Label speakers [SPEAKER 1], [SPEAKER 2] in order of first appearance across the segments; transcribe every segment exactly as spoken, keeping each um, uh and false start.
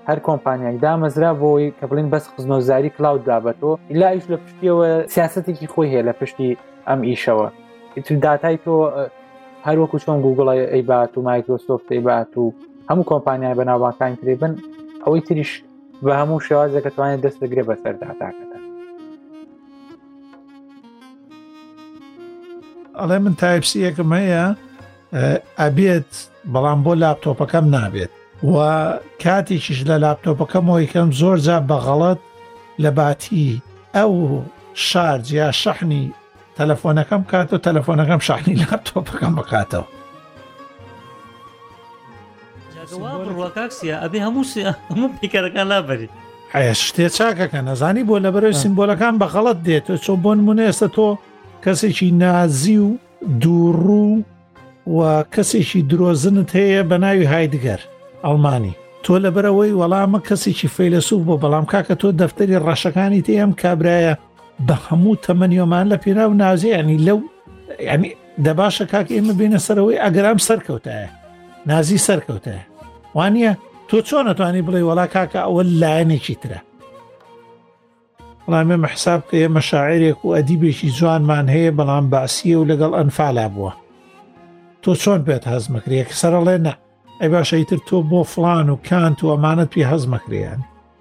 [SPEAKER 1] هەر کۆمپانیایك دامەزرا بۆی کە بڵین بەس خزمەتگوزاری کلااود دابەتەوە ئیلا ئیش لە پشتیەوە سیاسەتێکی خۆی هەیە لە پشتی ئەم ئیشەوە ئیتر داتای تۆ هەر وەکو چۆن گوگڵ ئەیبات و مایکرۆسۆفت ئەیبات و هەموو کۆمپانیای بەناوبانگەکانی ترێ بن ئەوەی تریش بە هەموو شێوازێک دەتوانێت دەست بگرێ بەسەر داتاکەتە.
[SPEAKER 2] ئەڵێ من تایپسی یەکم هەیە ئەبێت بەڵام بۆ لاپتۆپەکەم نابێت و کاتێکیش لە لاپتۆپەکەمەوە یکەم زۆر جا بەغەڵەت لە باتی ئەو شارج یا شەحنی تەلەفۆنەکەم کات و تەلەفۆنەکەم شەحنی لاپتۆپەکەم بکاتەوە.
[SPEAKER 3] ڕواکاکسیە ئەبێ هەموو هەموو پیکەرەکان لابەری
[SPEAKER 2] حەیە شتێ چاکەکە نەزانی بۆ لە بەرەوەی سیمبۆلەکان بەغەڵەت دێت چۆ بۆ نمونە ئێستا تۆ کەسێکی نازی و دووڕوو و کەسێکی درۆزنت هەیە بە ناوی هایدگەر ئەڵمانی تۆ لە بەرەوەی وەڵامە کەسێکی فەیلسوف بۆ بەڵام کاکە تۆ دەفتەری ڕەشەکانی تێم کابرایە بە هەموو تەمەنیۆمان لە پێناو نازی ینی لەو ینی دەباشە کاک ئێمە بینە سەرەوەی ئەگەرام سەرکەوتایە نازی سەرکەوتایە وانە تۆ چۆن نەتوانی بڵێ وەڵا کاکە ئەوە لایەنێکی ترە بەڵام ئێمە حساب کە ئێمە شاعیرێک و ئەدیبێکی جوانمان هەیە بەڵام باسیە و لەگەڵ ئەنفالا بووە تۆ چۆن پێت هەزمەکرێک سەرەڵێ نە ئەی باشە ئیتر تۆ بۆ فڵان و کانت و ئەمانەت پێ هەزمەکریان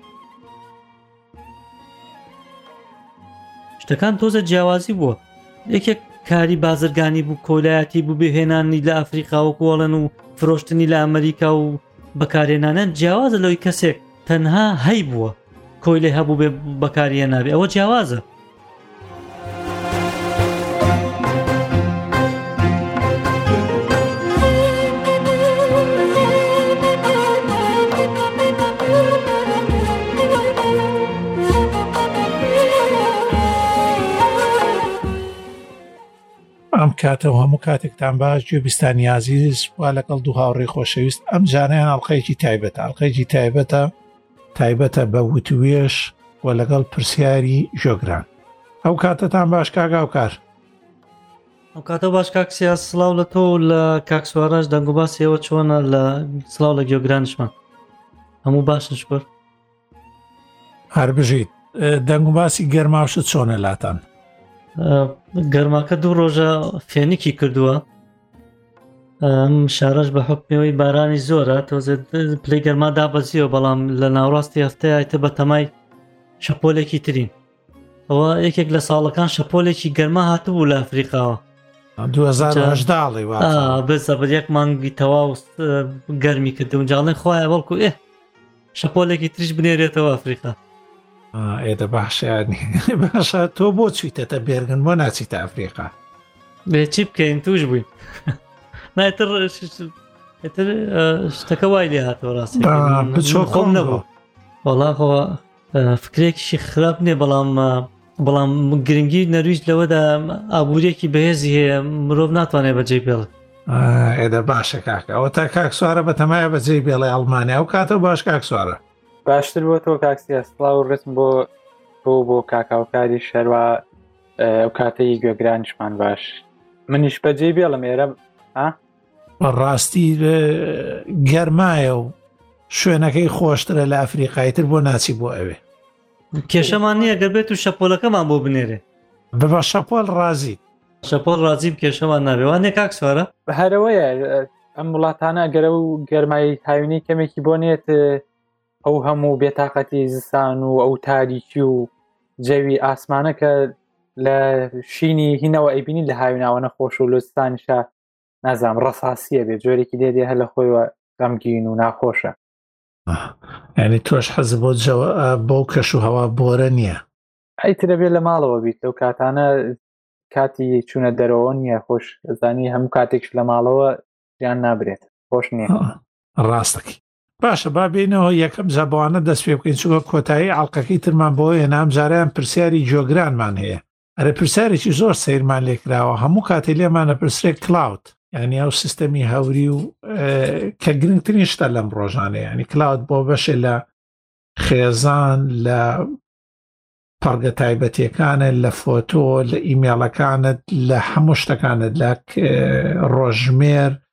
[SPEAKER 3] شتەکان تۆزە جیاوازی بووە یەکێک کاری بازرگانی بوو کۆلایەتی بوو بهێنانی لە ئەفریقا و کۆڵن و فرۆشتنی لە ئەمریکا و بەکارێنانە جیاوازە لەوەی کەسێک تەنها هەی بووە کۆی لێ هەبوو بێ بەکاریە نابێ ئەوە جیاوازە.
[SPEAKER 2] ئەم کاتەوە هەموو کاتێکتان باش گوێبیستانی عەزیز وا لەگەڵ دوو هاوڕێی خۆشەویست ئەم جانیان ئەڵقەیەکی تایبەتە ئەڵقەیەکی تایبەتە تایبەتە بە وتوێش و لەگەڵ پرسیاری ژۆگران ئەو کاتەتان باش کاگا و کار
[SPEAKER 3] ئەو کاتە باش کاکسیا سڵاو لە تۆ لە کاکسوارەش دەنگ و باسیەوە چۆنە لە سڵاو لە گیۆگرانشمان هەموو باشن شکر
[SPEAKER 2] هەر بژیت دەنگ و باسی گەرماوشت چۆنە لاتان
[SPEAKER 3] گەرماکە دوو ڕۆژە فێنێکی کردووە ئەم شارەش بە حکمەوەی بارانی زۆرە تۆزێت پلەی گەرما دابەزیەوە بەڵام لە ناوڕاستی هەفتەیەتە بە تەمای شەپۆلێکی ترین ئەوە یەکێک لە ساڵەکان شەپۆلێکی گەرما هاتبوو لە ئەفریقاوە
[SPEAKER 2] دوو هەزار و هەژدە
[SPEAKER 3] بێزە بە یەک مانگی تەواو گەرمی کردو جاڵێن خۆیان بەڵکو ئێ شەپۆلێکی تریش بنێرێتەوە ئەفریقا
[SPEAKER 2] ئێدە باشیانی باشە تۆ بۆ چیتەتە بێرگن بۆ ناچیتە ئەفریقا
[SPEAKER 3] بێ چی بکەین توش بووین نایتر شتەکە وای لێ هاتەوە ڕاستی
[SPEAKER 2] بچۆ
[SPEAKER 3] خۆم نەبوو وەڵاخەوە فکرێکیشی خراپ نییە بەڵام بەڵام گرنگی نەرویج لەوەدا ئابوووریەکی بەهێزی هەیە مرۆڤ ناتوانێت بەجێ بێڵێت
[SPEAKER 2] ئێدە باشە کاکە ئەوە تا کاک سوارە بە تەمایە بەجێ بێڵێ ئەڵمانیا ئەو کاتە باش کاک سوارە
[SPEAKER 1] باشتر بۆ تۆ کاکسیا سڵاو و ڕسم بۆ تۆ بۆ کاکاوکاری شەروە ئەو کاتەی گوێگرانیشمان باش منیش بەجێ بێڵم ئێرە
[SPEAKER 2] ڕاستی گەرمایە و شوێنەکەی خۆشترە لە ئەفریقاییتر بۆ ناچی بۆ ئەوێ
[SPEAKER 3] کێشەمان نییە گەر بێت و شەپۆلەکەمان بۆ بنێرێ
[SPEAKER 2] بە شەپۆل ڕازی
[SPEAKER 3] شەپۆل ڕازی کێشەمان نابێ وانێ کاک سوارە
[SPEAKER 1] هەرەوەیە ئەم وڵاتانە گەرە و گەرمای هاوینی کەمێکی بۆ نێت ئەو هەموو بێتاقەتی زستان و ئەو تاریکی و جەوی ئاسمانە کە لە شینی هینەوە ئەیبینی لە هاویناوە نەخۆش و لۆستانیشە نازام ڕەساسیە بێت جۆرێکی دێدێ هە لە خۆیوە غەمگین و ناخۆشە
[SPEAKER 2] یعنی تۆش حەز بۆ بۆ کەش و هەوا بۆرە نییە
[SPEAKER 1] ئەیترە بێت لە ماڵەوە بیت لەو کاتانە کاتی چوونە دەرەوە نییە خۆش زانی هەموو کاتێکش لە ماڵەوە یان نابرێت خۆش نییە
[SPEAKER 2] ڕاستەکی باشە با بینەوە یەکەم زەبوانە دەست پێ بکەین چووکە کۆتایی ئاڵلقەکەی ترمان بۆ هێنام جاریان پرسیاری جۆگرانمان هەیە ئەرە پرسیارێکی زۆر سیرمان لێکراوە هەموو کاتێ لێمانە پرسرێک کلااود یعنی ئەو سیستەمی هەوری و کە گرنگترین شتە لەم ڕۆژانە ینی کلااود بۆ بەشێ لە خێزان لە پەڕگە تایبەتیەکانت لە فۆتۆ لە ئیمێڵەکانت لە هەموو شتەکانت لە ڕۆژمێر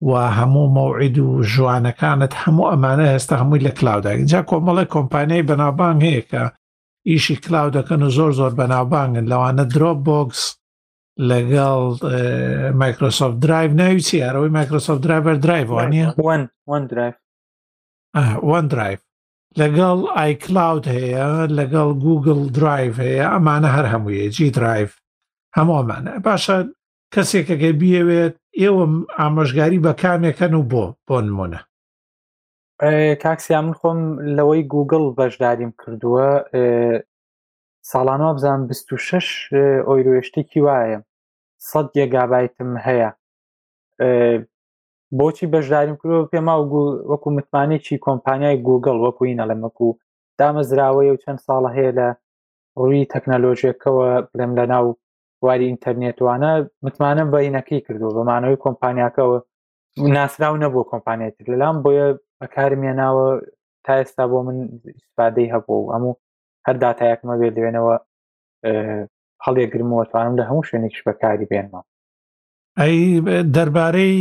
[SPEAKER 2] و هەموو مەوعید و ژوانەکانت هەموو ئەمانە هێستا هەمووی لە کلااودا جا کۆمەڵی کۆمپانیای بەناوبانگ هەیە کە ئیشی کلااودەکەن و زۆر زۆر بەناوبانگن لەوانە درۆپ بۆکس لەگەڵ مایکرۆسۆفت درایڤ ناوی چی هەرەوەی مایکرۆسۆفت درایڤەر درایڤ وانە
[SPEAKER 1] وان درایڤ
[SPEAKER 2] وان درایڤ لەگەڵ ئای کلااود هەیە لەگەڵ گوگل درایڤ هەیە ئەمانە هەر هەموویە جی درایڤ هەمووەمانە باشە کەسێکەکە بیەوێت ئێوە ئامۆژگاری بە کامێکەن و بۆ بۆ نمونە
[SPEAKER 1] کاکسیا من خۆم لەوەی گوگل بەشداریم کردووە ساڵانەوە بزانم بیست و شەش ئۆیرۆشتێکی وایە سەد گێگابایتم هەیە بۆچی بەشداریم کردووە پێما وەکو متمانێکی کۆمپانیای گوگل وەکوی نەڵەمەکو دامەزراوەیە و چەند ساڵە هەیە لە ڕووی تەکنەلۆژیەکەوە بڵێم لە ناو واری ئینتەرنێتوانە متمانم بەینەکەی کردووە بەمانەوەی کۆمپانیاکەەوە ناسرااو نەبوو کۆمپانیاتر لەلام بۆیە بەکارمێناوە تا ئێستا بۆ من ئیسپادەی هەبوو هەموو هەر داتایەکمە بێ لێنەوە هەڵێگرمەوە توانم لە هەموو شوێنێکش بەکاری بێنمەوە
[SPEAKER 2] ئەی دەربارەی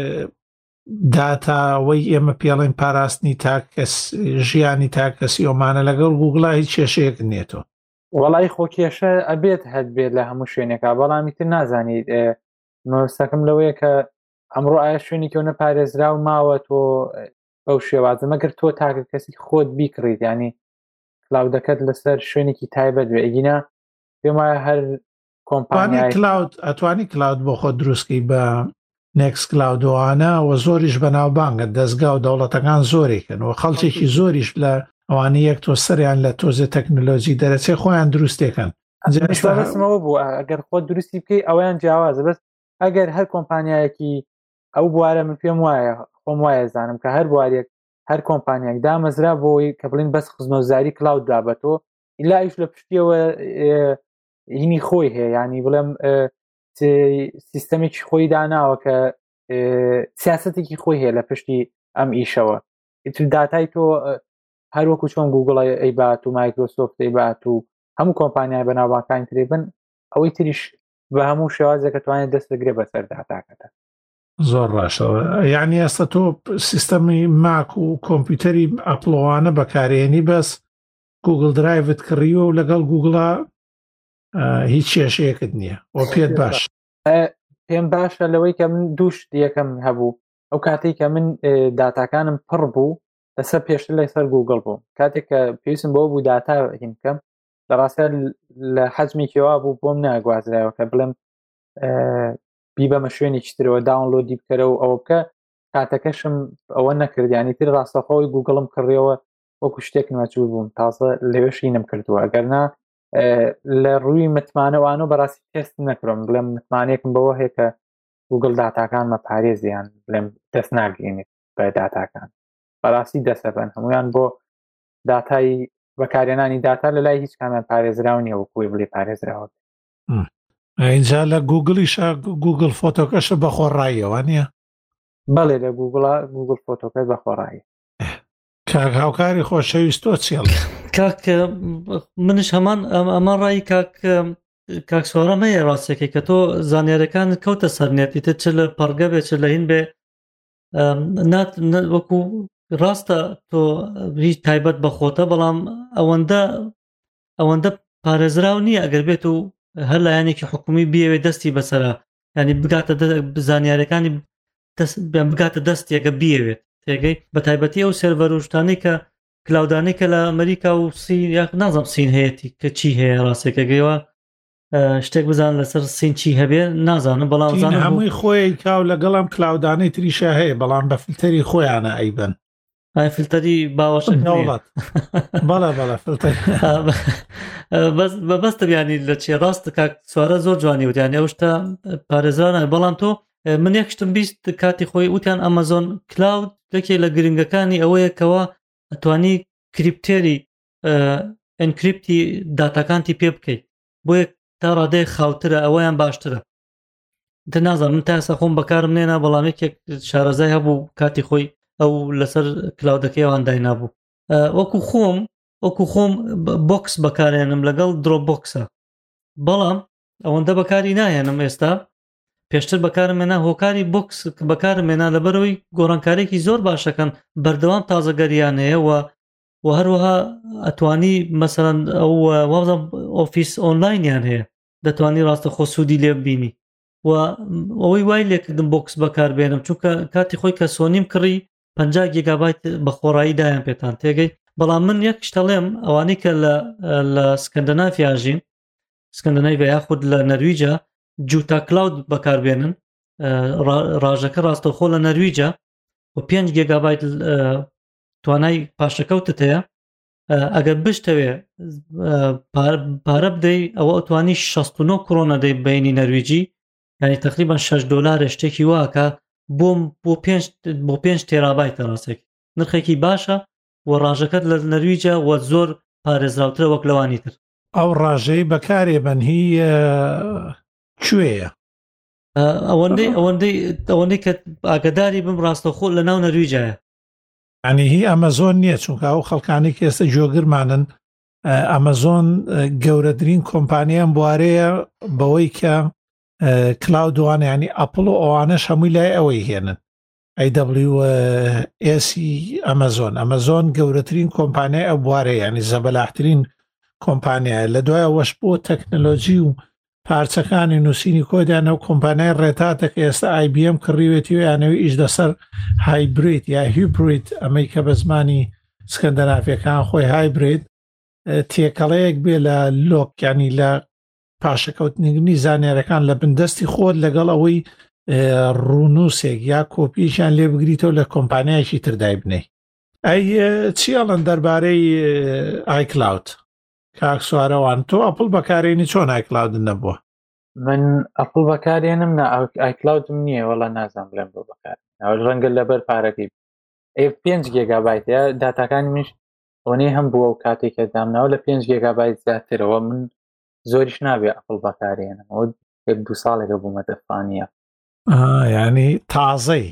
[SPEAKER 2] داتاوەی ئێمە پێڵێن پاراستنی تاکەس ژیانی تاکەسی ئۆمانە لەگەڵ گوگڵا هیچ کێشەیەک نێتەوە
[SPEAKER 1] وەڵی خۆکێشە ئەبێت هەت بێت لە هەموو شوێنێکا بەڵامی تر نازانیت مەوەستەکەم لەوەیە کە ئەمڕۆ ئایا شوێنی کەونە پارێزرا و ماوە تۆ بەو شێوازە مەگەر تۆ تاکە کەسی خۆت بیکڕیت ینی کلااودەکەت لەسەر شوێنێکی تایبەت بێ ئەگینا پێم وایە هەر کۆمپانیای
[SPEAKER 2] کلااود ئەتوانی کلااود بۆ خۆت دروستکەی بە نێکس کلااودوانە و زۆریش بەناوبانگە دەستگا و دەوڵەتەکان زۆرێکن و خەڵکێکی زۆریش لە ئەوانەی یەک تۆ سەریان لە تۆزە تەکنۆلۆژی دەرەچێ خۆیان دروستێکن
[SPEAKER 1] بەسمەوە بوو ئەگەر خۆت دروستی بکەی ئەویان جیاوازە بەس ئەگەر هەر کۆمپانیایەکی ئەو بوارە من پێم وایە خۆم وایە زانم کە هەر بوارێک هەر کۆمپانیاک دامەزرا بۆی کە بڵین بەس خزمەتگوزاری کلااود دابەتەوە ئیلایش لە پشتیەوە هینی خۆی هەیە ینی بڵێم سیستەمێکی خۆی داناوە کە سیاسەتێکی خۆی هەیە لە پشتی ئەم ئیشەوە ئیتر داتای تۆ هەروەکو چۆن گوگڵ ئەیبات و مایکرۆسۆفت ئەیبات و هەموو کۆمپانیای بەناوبانگەکان ترێبن ئەوەی تریش بە هەموو شێوازێک کە توانێت دەست بگرێ بەسەر داتاکەتە
[SPEAKER 2] زۆر باشەوە یعنی ئێستا تۆ سیستەمی ماک و کۆمپیوتەری ئەپڵۆوانە بەکارێنی بەس گوگل درایڤت کڕیوە و لەگەڵ گوگڵا هیچ کێشەیەکت نییە بۆ پێت باش
[SPEAKER 1] پێم باشە لەوەی کە من دووش دیەکەم هەبوو ئەو کاتێک کە من داتاکانم پڕ بوو لەسەر پێشتر لە سەر گوگڵ بوو کاتێک کە پێویستم بۆ بوو داتا هین بکەم لە ڕاستە لە حەجمێکیەوە بوو بۆم ناگوازرایەوە کە بڵێم بی بەمە شوێنێکی ترەوە داونلۆدی بکەرە و ئەوە بکە کاتەکەشم ئەوە نەکردیانی تر ڕاستەخۆی گوگڵم کڕیەوە وەکو شتێک نوچوو بووم تازە لەوێشینم کردووە ئەگەرنا لە ڕووی متمانەوانە بەڕاستی تێست نەکڕم بڵێم متمانێکم بەوە هەیە کە گوگڵ داتاکانمە پارێزیان بڵێم دەست ناگرێنێت بە داتاکان بەڕاستی دەسەبن هەمویان بۆ داتای بەکارێنانی داتا لە لای هیچ کامیان پارێزراو نیە وەکوی بڵێ پارێزراوە
[SPEAKER 2] اینجا لە گوگلیشە گوگل فۆتۆکەشە بەخۆڕاییەوە نییە
[SPEAKER 1] بەڵێ لە گوگڵا گوگل فۆتۆکەت بەخۆڕایی
[SPEAKER 2] کاک هاوکاری خۆشەویستۆ چێڵ
[SPEAKER 3] کاک منش هەمان ئەمە ڕایی کاک کاک سۆڕەمەیە ڕاستێکی کە تۆ زانیارەکان کەوتە سەرنێتیتە چ لە پەڕگە بێت چ لە هین بێ وەکو ڕاستە تۆ هیچ تایبەت بەخۆتە بەڵام ئەوەندە ئەوەندە پارێزراو نییە ئەگەر بێت و هەر لایەنێکی حکومی بیەوێ دەستی بەسەرا ینی بگاتە زانیارەکانی بگاتە دەستێکە بیەوێت تێگەی بە تایبەتی ئەو سێرڤەر و شتانەی کە کلااودانەی کە لە ئەمریکا و سین یا نازم سین هەیەی کە چی هەیە ڕاستێکەگەیەوە شتێک بزان لەسەر سین چی هەبێ نازانم بەڵام زانم
[SPEAKER 2] هەمووی خۆی کاو لەگەڵم کلااودانەی تریشە هەیە بەڵام بە فیلتەری خۆیانە ئەیبن
[SPEAKER 3] ئای فیلتەری باوەشت
[SPEAKER 2] بەڵێ بەڵێ فیلتەر
[SPEAKER 3] بەبەستە بیانی لە چێ ڕاست کاک سوارە زۆر جوانی وتیان ئەو شتە پارێزرانە بەڵام تۆ من یەکشتم بیست کاتی خۆی وتیان ئەمازۆن کلااود یەکێ لە گرنگەکانی ئەوەیە کەەوە ئەتوانی کریپتێری ئەنکریپتی داتاکانتی پێ بکەیت بۆیە تا ڕادەیە خاوترە ئەوەیان باشترە دە نازانم من تاسە خۆم بەکارم نێنا بەڵام یەکێک شارەزای هەبوو کاتی خۆی ئەو لەسەر کلااودەکەی ئەوان داینابوو وەکو خۆم وەکو خۆم بۆکس بەکارێنم لەگەڵ درۆ بۆکسە بەڵام ئەوەندە بەکاری نایەنم ئێستا پێشتر بەکارمێنا هۆکاری بۆکس بەکارمێنا لەبەرەوەی گۆڕانکارێکی زۆر باشەکەن بەردەوام تازەگەریانەیە و و هەروەها ئەتوانی مەسەرەن ئەو وازم ئۆفیس ئۆنلاینیان هەیە دەتوانی ڕاستە خۆ سوودی لێ ببینی و ئەوەی وای لێکردم بۆکس بەکاربێنم چونکە کاتی خۆی کە سۆنیم کڕی پەنجا گیگابایت بە خۆڕایی دایان پێتان تێگەی بەڵام من یەک شتەڵێم ئەوانەی کە لە سکەندەنافیاژین سکەندەناڤیا یاخود لە نەرویجە جوتا کلاود بەکاربێنن ڕاژەکە ڕاستەوخۆ لە نەرویجە و پێنج گیگابایت توانای پاشەکەوتت هەیە ئەگەر بشتەوێ پارە بدەی ئەوە ئەتوانی شەست و نۆ کڕۆنە دەی بینی نەرویجی یعنی تقریبا شەش دۆلار شتێکی واکە بۆم بۆ پێنج بۆ پێنج تێرابایتە ڕاستێک نرخێکی باشە و ڕاژەکەت لە نەرویجە و زۆر پارێزراوترە وەک لەوانی تر
[SPEAKER 2] ئەو ڕاژەی بەکارێبەن هی کوێیە
[SPEAKER 3] ئەوەندەی ئەوەندەی ئەوەندەی کە ئاگداری بم ڕاستەخۆ لە ناو نەرویجایە
[SPEAKER 2] ئەنی هی ئەمەزۆن نییە چونکە ئەو خەڵکانی کە ئێستا جۆگرمانن ئەمەزۆن گەورەترین کۆمپانیان بوارەیە بەوەی کە کلااودوان ینی ئەپڵ و ئەوانەش هەمووی لای ئەوەی هێنن ئەی دەبلیو ئێسی ئەمەزۆن ئەمەزۆن گەورەترین کۆمپانیای ئەو بوارەیە ینی زەبەلاحترین کۆمپانیایە لە دوای ئەوەش بۆ تەکنەلۆجی و پارچەکانی نووسینی کۆدیانە و کۆمپانیای ڕێتاتە کە ئێستا آی بی ئەم کڕیوێتی و یانەوەی ئیش دەسەر هایبریت یا هیبریت ئەمەی کە بە زمانی سکەندەنافیەکان خۆی هایبریت تێکەڵەیەک بێ لە لۆکیانی لە پاشەکەوتنی زانێرەکان لە بندستی خۆت لەگەڵ ئەوەی ڕوونووسێک یا کۆپیشان لێ بگریتەوە لە کۆمپانیایکی تردای بنەی ئەی چیاڵن دەربارەی ئایکلاود کاک سوارەوان تۆ ئەپڵ بەکارێنی چۆن ئایکلاودن نەبووە
[SPEAKER 1] من ئەپڵ بەکارێنم نە ئایکلاودم نییە وەڵا نازان بڵێم بۆ بەکار ڕەنگە لەبەر پارەکەی پێنج گیگابایتە داتاکانی منش ئەوەی هەم بووە و کاتێککە دامناوە لە پێنج گیگابایت زیاترەوە من زۆریش نابێ ئەپڵ بەکارێنم ئەو یەک دو ساڵێکە بوومە دەفانیە
[SPEAKER 2] ینی تازەی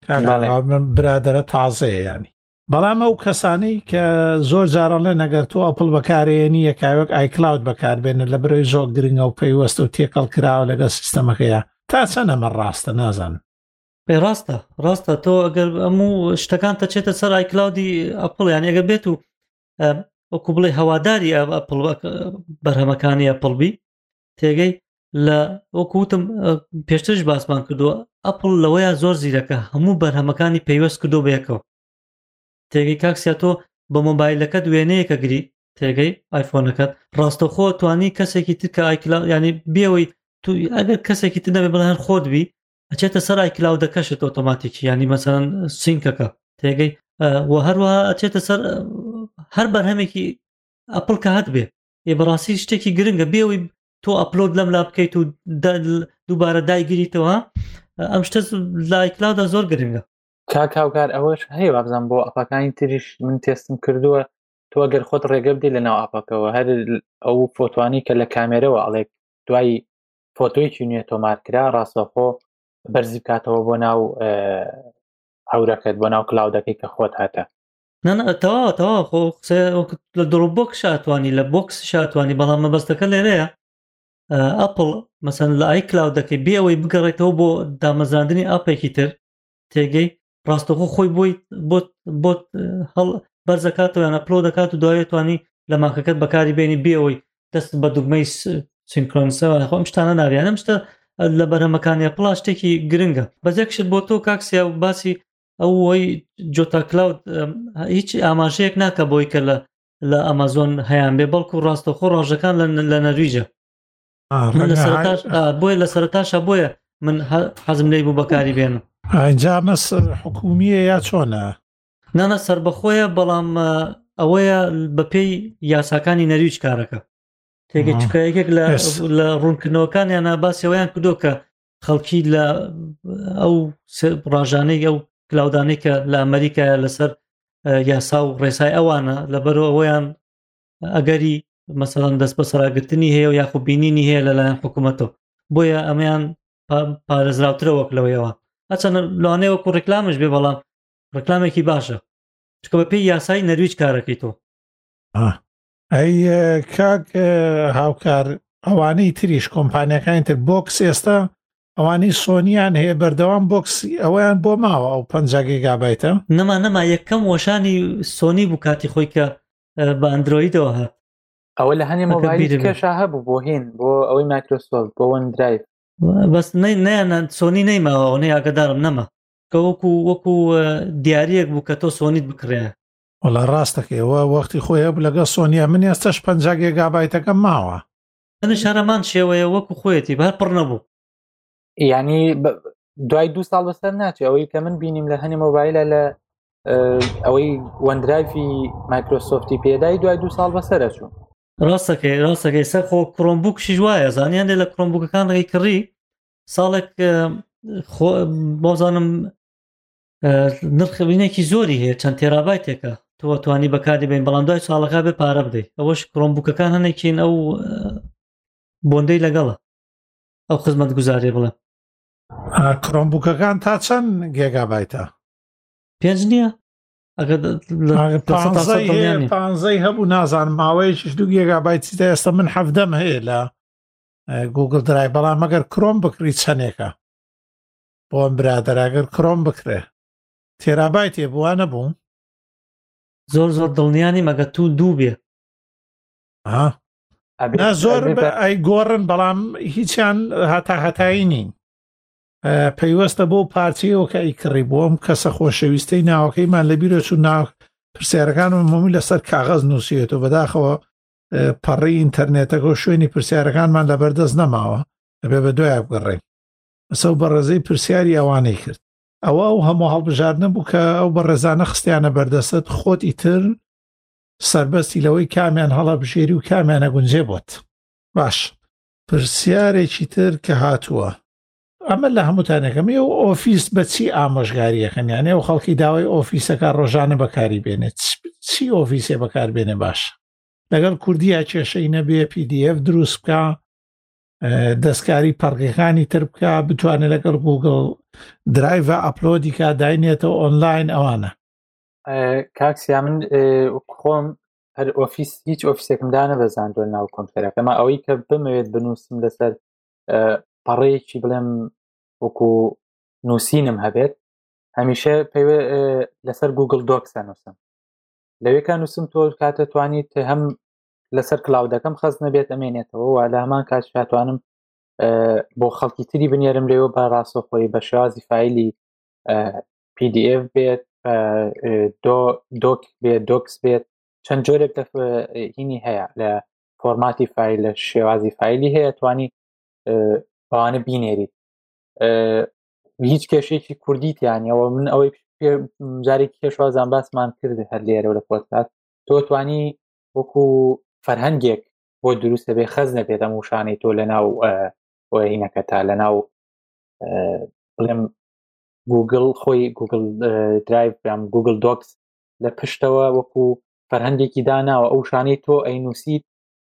[SPEAKER 2] برادرە تازەیە ینی بەڵام ئەو کەسانەی کە زۆر جارەڵێ نەگەر تۆ ئەپڵ بەکارێنی یەکاوێک ئایکلاود بەکاربێنە لە برەوەی زۆر گرنگە و پەیوەستە و تێکەڵ کراوە لەگە سیستەمەکەیە تا چەند ئەمە ڕاستە نازان
[SPEAKER 3] پێ ڕاستە ڕاستە تۆ ئەگەر هەموو شتەکان تەچێتە سەر ئایکلاودی ئەپڵ یان ئەگەر بێت و وەکو بڵێ هەواداری ئەپڵ بەرهەمەکانی ئەپڵبی تێگەی لە وەکوتم پێشترش باسمان کردووە ئەپڵ لەوەیە زۆر زیرەکە هەموو بەرهەمەکانی پەیوەست کردو بەیەکەوە تێگەی کاکسیا تۆ بە مۆبایلەکەت وێنەیەکە گری تێگەی ئایفۆنەکەت ڕاستەخۆ توانی کەسێکی تر کە ئایکلاود ینی بێەوەی تو ئەگەر کەسێکی تر نەبێ بڵێن خۆت بی ئەچێتە سەر ئایکلاودەکەشت ئۆتۆماتیکی ینی مەسەڵەن سینکەکە تێگەی و هەروەها ئەچێتە سەر هەر بەرهەمێکی ئەپڵ کە هەت بێ ێ بەڕاستی شتێکی گرنگە بێەوەی تۆ ئەپلۆد لەم لا بکەیت و دووبارە دایگیریتەوە ئەم شتە لە ئایکلاودە زۆر گرنگە
[SPEAKER 1] کاکاوکار ئەوەش هەیە بابزان بۆ ئەپەکانی تریش من تێستم کردووە تۆ ئەگەر خۆت ڕێگە بدی لە ناو ئاپەکەەوە هەر ئەو فۆتوانی کە لە کامێرەوە ئەڵێک دوای فۆتۆیکی نوێ تۆمارکرا ڕاستەخۆ بەرزی بکاتەوە بۆ ناو هەورەکەت بۆ ناو کلااودەکەی کە خۆت هاتە
[SPEAKER 3] نەتەوا تەوا خۆ لە دڕۆبۆکس شاتوانی لە بۆکس شاتوانی بەڵام مەبەستەکە لێرەیە ئەپڵ مەسەن لە ئایکلاودەکەی بێەوەی بگەڕێتەوە بۆ دامەزاندنی ئاپێکی تر تێگەی ڕاستەخۆ خۆی بۆی بۆ هەڵ بەرزەکاتەوە یان ئەپلۆ دەکات و دوایێتوانی لە ماکەکەت بەکاری بێنی بێەوەی دەست بە دوگمەی سینکرۆنسەوە خۆم شتانە ناویانم شتە لە بەرهەمەکانی ئەپڵ شتێکی گرنگە بەزێکشت بۆ تۆ کاکسیا باسی ئەوەی جۆتا کلاود هیچ ئاماژەیەک ناکە بۆی کە لە لە ئەمازۆن هەیان بێ بەڵکو ڕاستەخۆ ڕۆژەکان لە نەرویجە بۆیە لە سەرتاشە بۆیە من حەزم لێی بوو بەکاری بێنم
[SPEAKER 2] ئەجا مەس حکومیە یا چۆنە
[SPEAKER 3] نانە سربەخۆیە بەڵام ئەوەیە بەپێی یاساکانی نەرویج کارەکە تێگە چکایەکێک لە ڕوونکردنەوەکانیان باسیەوەیان کردو کە خەڵکی لە ئەو ڕاژانەی ئەو کلااودانەی کە لە ئەمریکایە لەسەر یاسا و ڕێسای ئەوانە لەبەرەوە ئەویان ئەگەری مەسەڵەن دەست بە سەراگرتنی هەیە و یاخو بینینی هەیە لەلایەن حکوومەتەوە بۆیە ئەمەیان پارێزراوترە وەک لەوەیەوە ئەچەنە لەوانەیە وەکو ڕێکلامش بێ بەڵام ڕێکلامێکی باشە چکە بە پێی یاسای نەرویج کارەکەی تۆ
[SPEAKER 2] ئەی کاک هاوکار ئەوانەی تریش کۆمپانیەکانی تر بۆکس ئێستا ئەوانی سۆنیان هەیە بەردەوام بۆکسی ئەویان بۆ ماوە ئەو پەنجا گیگابایتە
[SPEAKER 3] نەما نەما یەکەم وەشانی سۆنی بوو کاتی خۆی کە بە ئەندرۆیدەوە هات
[SPEAKER 1] ئەوە لە هەنێ مۆبایلی کێشا هەبوو بۆ هین بۆ ئەوەی مایکرۆسۆفت بۆ ون درایڤ
[SPEAKER 3] بەس نەیانە سۆنی نەیماوە نەی ئاگدارم نەما کە وەکو وەکو دیارەک بوو کە تۆ سۆنیت بکڕێ
[SPEAKER 2] وەڵا ڕاستەکەەوە وەختی خۆی هەبوو لەگە سۆنیە من ئێستش پەنجا گیگابایتەکە ماوە
[SPEAKER 3] شارەمان شێوەیە وەکو خۆیەتی بەر پڕ نەبوو
[SPEAKER 1] یعنی دوای دو ساڵ بەسەر ناچێ ئەوەی کە من بینیم لە هەنێ مۆبایلە لە ئەوەی وەندرایڤی مایکرۆسۆفتی پێدای دوای دو ساڵ بەسەرە چوو
[SPEAKER 3] ڕاستەکەی ڕاستەکەی سەر خۆ کڕۆمبووکشی وایە زانیان لێ لە کڕۆمبووکەکان ڕێی کڕی ساڵێک بۆزانم نرخبینێکی زۆری هەیە چەند تێرابایتێکە تۆ توانی بەکاری بین بەڵام دوای ساڵەکە بێ پارە بدەیت ئەوەش کڕۆمبووکەکان هەنێکین ئەو بۆندەی لەگەڵە ئەو خزمەت گوزارێ بڵێ
[SPEAKER 2] کڕۆمبووکەکان تا چەند گێگابایتە
[SPEAKER 3] پێنج نییە
[SPEAKER 2] پانزەی هەبوو نازان ماوەیەکیش دوو گێگابایتی ئێستا من حەفدەم هەیە لە گوگل درای بەڵام ئەگەر کڕۆم بکری چەندێکە بۆ ئەم برادەراگەر کڕۆم بکرێ تێرابایتێ بووە نەبوو
[SPEAKER 3] زۆر زۆر دڵنیانی مەگە تو دوو بێ
[SPEAKER 2] زۆر ئەی گۆڕن بەڵام هیچیان هەتا هەتایی نین پەیوەستە بۆ پارچەیەوە کە ئەیکڕی بۆم کەسە خۆشەویستەی ناوەکەیمان لەبیرە چوو ناو پرسیارەکان و مۆمی لەسەر کاغەز نووسێتەوە بەداخەوە پەڕی ئینتەرنێتەکە و شوێنی پرسیارەکانمان لە بەردەست نەماوە ئەبێ بە دوای بگەڕێن ئەسە و بەڕێزەی پرسیاری ئەوانەی کرد ئەوە ئەو هەموو هەڵبژاردنە بوو کە ئەو بەڕێزانە خستیانە بەردەستت خۆت ئیتر سربەستی لەوەی کامیان هەڵە بژێری و کامیانە گونجێ بۆت باش پرسیارێکی تر کە هاتووە ئەمە لە هەمووتانەکەمی و ئۆفیس بە چی ئامۆژگاریەکەنیانێ و خەڵکی داوای ئۆفیسەکە ڕۆژانە بەکاری بێنێت چی ئۆفیسێ بەکاربێنێ باش لەگەڵ کوردیا کێشەی نەبێ پی دی ئەف دروست بکە دەستکاری پەرقەکانی تر بکە بتوانێت لەگەڵ گوگل درایڤە ئەپلۆدیکە داینێتەوە ئۆنلاین ئەوانە
[SPEAKER 1] کاکسیا من خۆم هەر ئۆفیس هیچ ئۆفیسێکمدا نەبەزاندوە ناو کۆمپیۆتەرەکە ئەمە ئەوەی کە بمەوێت بنووسم لەسەر پەڕەیەکی بڵێم وەکو نووسینم هەبێت هەمیشە پێوێ لەسەر گوگل دۆکسە نووسم لەوێکە نووسم تۆ کاتە توانیت هەم لەسەر کلااودەکەم خەز نەبێت ئەمێنێتەوە و لە هەمان کات توانم بۆ خەڵکی تری بنێرم لێوە بە ڕاستەخۆی بە شێوازی فایلی پی دی ئف بێت دۆک بێت دۆکس بێت چەند جۆرێک هینی هەیە لە فۆرماتی فایل لە شێوازی فایلی هەیە توانی بەوانە بینێریت هیچ کێشێکی کوردیتیانەوە من ئەوەی جارێکی کێشوازان باسمان کرد هەر لێرە لە پۆدکاست تۆ توانی وەکو فەرهەنگێک بۆ دروستە بێ خەز نەبێت ئەم وشانەی تۆ لە ناو هینەکە تا لە ناو بڵێم گوگل خۆی گوگل درایڤ یان گوگل دۆکس لە پشتەوە وەکو فەرهەنگێکی داناوە ئەو شانەی تۆ ئەینووسیت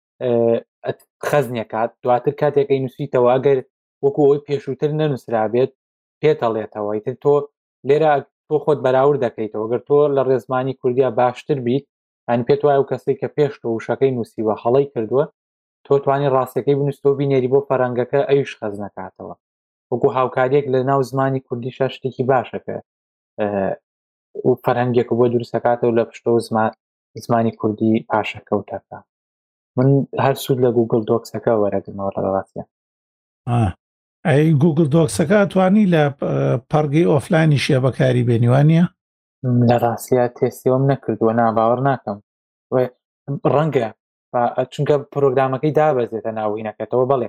[SPEAKER 1] خەزنیەکات دواتر کاتێک ئەینووسیتەوە ئەگەر وەکو ئەوی پێشووتر نەنووسرا بێت پێتەڵێتەوە ئیتر تۆ لێرە تۆ خۆت بەراورد دەکەیتەوە گەر تۆ لە ڕێزمانی کوردیا باشتر بیت ئەن پێت وایە و کەسێک کە پێش تۆ وشەکەی نووسیوە هەڵەی کردووە تۆ توانی ڕاستەکەی بنووسەوە بینێری بۆ فەرەنگەکە ئەویش خەز نەکاتەوە وەکو هاوکاریەک لە ناو زمانی کوردیشە شتێکی باشەکە و فەرهەنگێک بۆ دروستەکاتەوە لە پشتەوە زمانی کوردی پاشەکەوتەکە من هەر سوود لە گوگل دۆکسەکە وەرەگرمەوە لە ڕاستیە
[SPEAKER 2] ئەی گوگل دۆکسەکە توانی لە پەرگەی ئۆفلاینی شێ بەکاری بێنیوانە
[SPEAKER 1] لە ڕاستیە تێستیەوەم نەکردووە ناباوەڕ ناکەم ڕەنگە چونکە پرۆگرامەکەی دابەزێتە ناوینەکەتەوە بەڵێ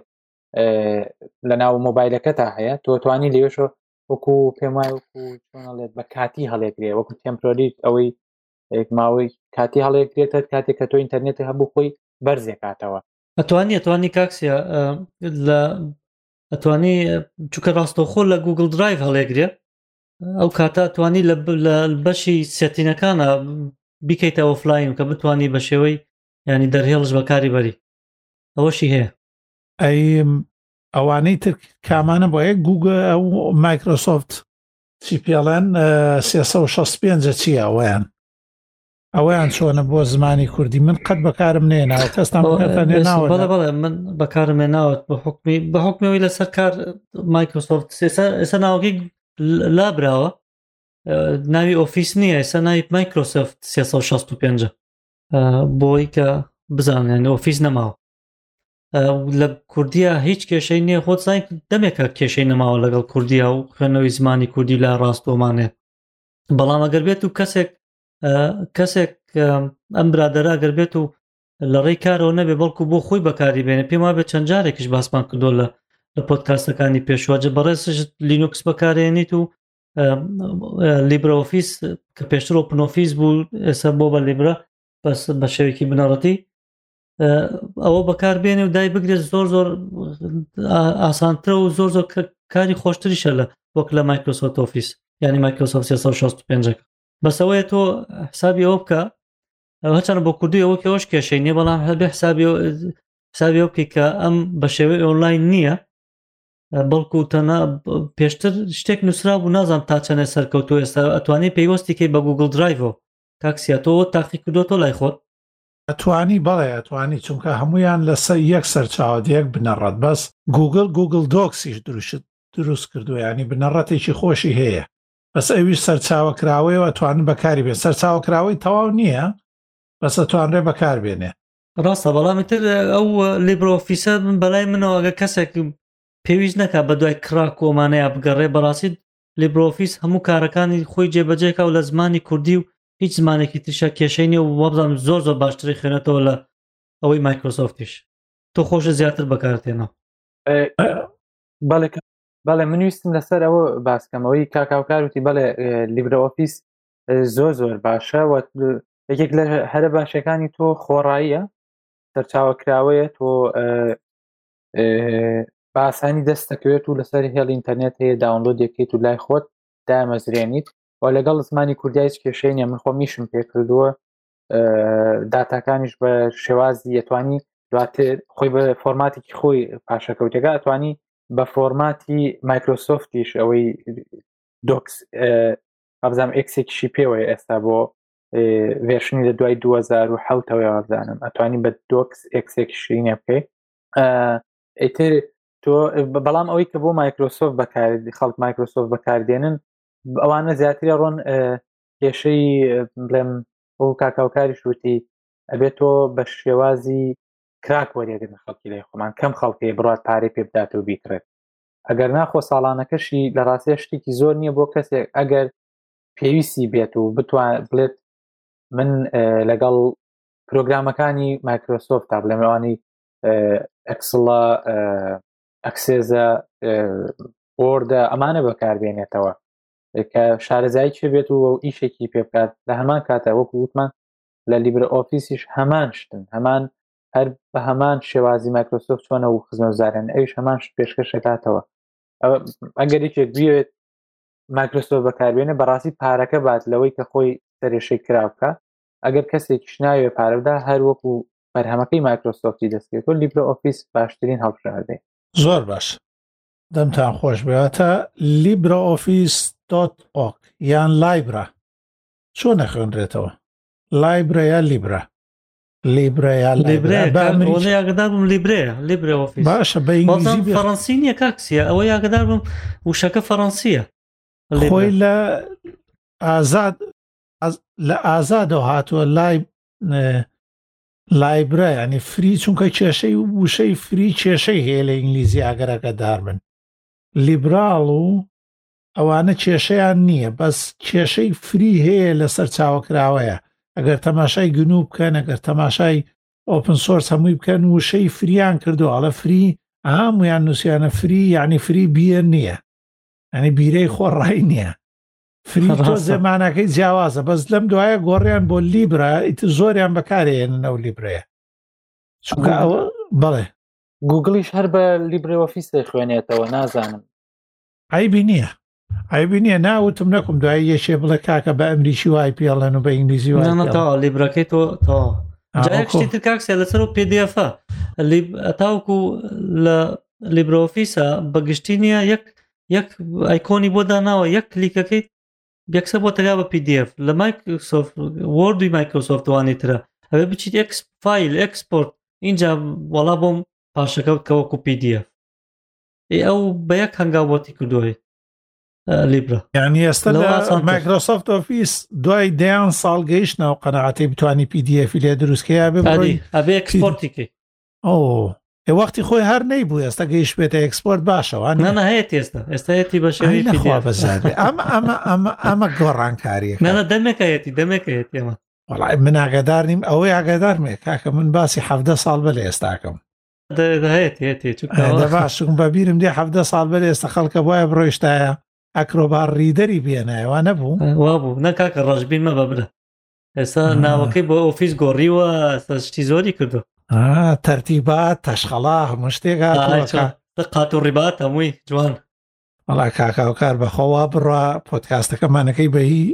[SPEAKER 1] لە ناو مۆبایلەکە تا هەیە تۆ توانی لێشە وەکو پێم وایە وەکو چۆنەڵێت بە کاتی هەڵێگرێ وەکو تێمپۆری ئەوەی ماوەی کاتی هەڵەیەگرێتە کاتێک کە تۆ ئینتەرنێتی هەبوو خۆی بەرزێکاتەوە
[SPEAKER 3] ئەتوانی ئەتوانی کاکسیا لە ئەتوانی چونکە ڕاستەوخۆ لە گوگل درایڤ هەڵێگرێ ئەو کاتە توانی لە بەشی سێتینەکانە بیکەیتە ئۆفلاین کە بتوانی بە شێوەی ینی دەرهێڵش بەکاری بەری ئەوەشی هەیە
[SPEAKER 2] ئەی ئەوانەی تر کامانە بۆ یەک گوگل ئەو مایکرۆسۆفت چی پێڵێن سێسە و شەست و پێنج چیە ئەویان ئەویان چۆنە بۆ زمانی کوردی من قەت بەکارم نێناوە کەستان نێناوە
[SPEAKER 3] بەڵێ بەڵێ من بەکارم هێناوت بە حکمی بە حکمەوەی لەسەر کار مایکرۆسۆفت ئێستا ناوەکەی لابراوە ناوی ئۆفیس نییە ئێستا ناوی مایکرۆسۆفت سێسەد و شەست و پێنج بۆی کە بزانێن ئۆفیس نەماوە لە کوردیە هیچ کێشەی نییە خۆت زای دەمێکە کێشەی نەماوە لەگەڵ کوردیا و خوێنەوەی زمانی کوردی لە ڕاستۆمانێ بەڵام ئەگەر بێت و کەسێک کەسێک ئەم برادەرە ئەگەر بێت و لە ڕێی کارەوە نەبێ بەڵکو بۆ خۆی بەکاری بێنێ پێم وابێ چەند جارێکیش باسمان کردۆ لە لە پۆدکاستەکانی پێشواجە بەڕێزش لینوکس بەکارێنیت و لیبرە ئۆفیس کە پێشتر ئۆپن ئۆفیس بوو ئێستا بۆ بە لیبرە بەس بە شێوێکی بنەڕەتی ئەوە بەکار بێنێ و دای بگرێت زۆر زۆر ئاسانترە و زۆر زۆر کاری خۆشتریشە لە وەک لە مایکرۆسۆفت ئۆفیس یعنی مایکرۆسۆفت سێسەد و شەست و پێنج بەسەوەیە تۆ حسابی ئەوە بکە هەچەنە بۆ کوردی ئەوە کە ئەوش کێشەی نییە بەڵام هەبێ حسابی حسابی ئەو بکەی کە ئەم بە شێوەی ئۆنلاین نییە بەڵکو تەنها پێشتر شتێک نووسرا بوو نازانم تا چەندە سەرکەوتووە ئێستا ئەتوانێت پێیوەستی کەی بە گوگل درایڤەوە کاکسیاتەوە تاقی کردوتۆ لای خۆت
[SPEAKER 2] ئەتوانی بەڵێ ئەتوانی چونکە هەمویان لەسەر یەک سەرچاوە یەک بنەڕەت بەس گوگل گوگل دۆکسیش دروشت دروست کردووە ینی بنەڕەتێکی خۆشی هەیە بەس ئەویش سەرچاوەکراوەیەوە ئەتوانن بەکاری بێن سەرچاوەکراوەی تەواو نییە بەس ئەتوانرێ بەکار بێنێ
[SPEAKER 3] ڕاستە بەڵامی تر ئەو لیبرە ئۆفیسە من بەلای منەوە ئەگە کەسێک پێویست نەکا بە دوای کرا کۆمانەیە بگەڕێ بەڕاستی لیبرە ئۆفیس هەموو کارەکانی خۆی جێبەجێکا و لە زمانی کوردی و هیچ زمانێکی ترشە کێشەی نیە و وەبزانم زۆر زۆر باشتری خوێنێتەوە لە ئەوەی مایکرۆسۆفتیش تۆ خۆشە زیاتر بەکارتێنەوە
[SPEAKER 1] بەڵێ بەڵێ من ویستم لەسەر ئەوە باسکەمەوەی کاکاوکار وتی بەڵێ لیبرە ئۆفیس زۆر زۆر باشە و یەکێک لە هەرە باشەکانی تۆ خۆڕاییە سەرچاوەکراوەیە تۆ باسانی دەست دەکەوێت و لەسەر هێڵ ئینتەرنێت هەیە داونلۆد دەکەیت و لای خۆت دامەزرێنیت و لەگەڵ زمانی کوردی هیچ کێشەی نیە من خۆ میشم پێ کردووە داتاکانیش بە شێوازی ئەتوانی دواتر خۆی بە فۆرماتێکی خۆی پاشەکەوتێکە ئەتوانی بە فۆرماتی مایکرۆسۆفتیش ئەوەی دۆکس ئەبزانم ئێکسێکیشی پێوەیە ئێستا بۆ ڤێرشنی لە دوای دوو هەزار و حەوتەوەی وابزانم ئەتوانی بە دۆکس ئێکسێکیشی نێ بکەیت ئیتر تۆ بەڵام ئەوەی کە بۆ مایکرۆسۆفت بەکاردی خەڵک مایکرۆسۆفت بەکاردێنن ئەوانە زیاتری ڕۆن کێشەی بڵێم ئەو کاکاوکاری شووتی ئەبێت تۆ بە شێوازی کراک وەرێگرن خەڵکی لای خۆمان کەم خەڵکی بڕات پارەی پێ بداتەوە بیکرێت ئەگەر ناخۆ ساڵانەکەشی لە ڕاستیە شتێکی زۆر نییە بۆ کەسێک ئەگەر پێویستی بێت و بتوان بڵێت من لەگەڵ پرۆگرامەکانی مایکرۆسۆفت تا بڵێمەوانی ئەکسڵە ئەکسێزە ئۆردە ئەمانە بەکاربێنێتەوە کە شارەزایی چێ بێت و ئیشێکی پێ بکات لە هەمان کاتە وەکو وتمان لە لیبرە ئۆفیسیش هەمان شتن هەمان هەر بە هەمان شێوازی مایکرۆسۆفت چۆنە و خزمەتگوزارن ئەویش هەمان شت پێشکەشەکاتەوە ئەگەر یەکێک بوێت مایکرۆسۆفت بەکاربێنێ بەڕاستی پارەکە بات لەوەی کە خۆی سەرێشەی کراو بکە ئەگەر کەسێکیش ناوێ پارەدا هەر وەکو بەرهەمەکەی مایکرۆسۆفتی دەستێت و لیبرە ئۆفیس باشترین هەڵبژاردەی
[SPEAKER 2] زۆر باش دەمتان خۆش بێتە لیبرە ئۆفیس دۆت ئۆرگ یان لایبرە چۆن نەخوێنرێتەوە لایبرە یا لیبرە لیبرە یا
[SPEAKER 3] لیبرە یاگدار بم لیبرەیە لیبرە ئۆفیس
[SPEAKER 2] باشە بە ئینگلیزی
[SPEAKER 3] فەڕەنسی نییە کاکسیە ئەوە یاگدار بم وشەکە فەڕەنسیە
[SPEAKER 2] خۆی لە ئازاد لە ئازادەوە هاتووە لای لایبرە ینی فری چونکە کێشەی وشەی فری کێشەی هەیە لە ئینگلیزی ئاگەرەکە داربن لیبراڵ و ئەوانە کێشەیان نییە بەس کێشەی فری هەیە لە سەر چاوەکراوەیە ئەگەر تەماشای گنوو بکەن ئەگەر تەماشای ئۆپن سۆرس هەمووی بکەن وشەی فریان کردو ئەڵە فری هەمویان نووسیانە فری یعنی فری بیە نییە ئەنی بیرەی خۆڕایی نییە فری تۆ زەمانەکەی جیاوازە بەس لەم دوایە گۆڕیان بۆ لیبرە ئیتر زۆریان بەکارێنن ئەو لیبرەیە چونکە ئەوە بەڵێ
[SPEAKER 1] گوگڵیش هەر بە لیبرە ئۆفیس خوێنێتەوە نازانم
[SPEAKER 2] عیبی نییە عیبی نییە ناوتم نەکوم دوای یەشێ بڵێ کاکە بە ئەمریکی وای پێڵێن و بە ئینگلیزی
[SPEAKER 3] وای لیبرەکەی تۆ تا جایەکشتی تر کاکسە لەسەر و پێدیەفە تاوکو لە لیبرە ئۆفیسە بەگشتی نییە یەک یەک ئایکۆنی بۆ داناوە یەک کلیکەکەیت بێکسە بۆ تەگا بە پی دی اف لە مایکرۆسۆفت وۆردی مایکرۆسۆفت وانی ترە ئەوێ بچیت ئەکس فایل ئەکسپۆرت اینجا وەڵا بۆم پاشەکەوت کەوەکو پی دی اف ئەو بە یەک هەنگاو بۆتی کردوی لیبرا
[SPEAKER 2] یعنی ئێستا لە مایکرۆسۆفت ئۆفیس دوای دەیان ساڵ گەیشتنەوە قەنەعەتی بتوانی پی دی اف لێ دروستکەیە بێ
[SPEAKER 3] ئەبێ ئەکسپۆرتیکەی
[SPEAKER 2] ئەو ێ وەختی خۆی هەر نەیبوو ئێستا گەیشت بێتە ئەکسپۆرت باشەوە
[SPEAKER 3] نەنە هەیە ئێستا ئێستاەتی بەشەوەی
[SPEAKER 2] بەزار ئەمە ئەمە ئەمە ئەمە گۆڕانکاریە
[SPEAKER 3] نەنە دەمێکایەتی دەمێکایەتی ئەمە
[SPEAKER 2] وەڵای من ئاگادار نیم ئەوەی ئاگادارمێ کاکە من باسی حەڤدە ساڵ بە لە ئێستاکەم باشم بەبیرم دێ حەڤدە ساڵ بە لە ئێستا خەڵکە وایە بڕۆیشتایە ئەکرۆبار ڕیدەری بێنایەوە نەبوو
[SPEAKER 3] وا بوو نەکاکە ڕژبین مە بەبرە ئێستا ناوەکەی بۆ ئۆفیس گۆڕیوە شتی زۆری کردو
[SPEAKER 2] تەرتیبات تەشخەڵا هەموو شتێک
[SPEAKER 3] قات و ڕیبات هەمووی جوان
[SPEAKER 2] وەڵا کاکاوکار بەخۆوا بڕە پۆدکاستەکەمانەکەی بەهی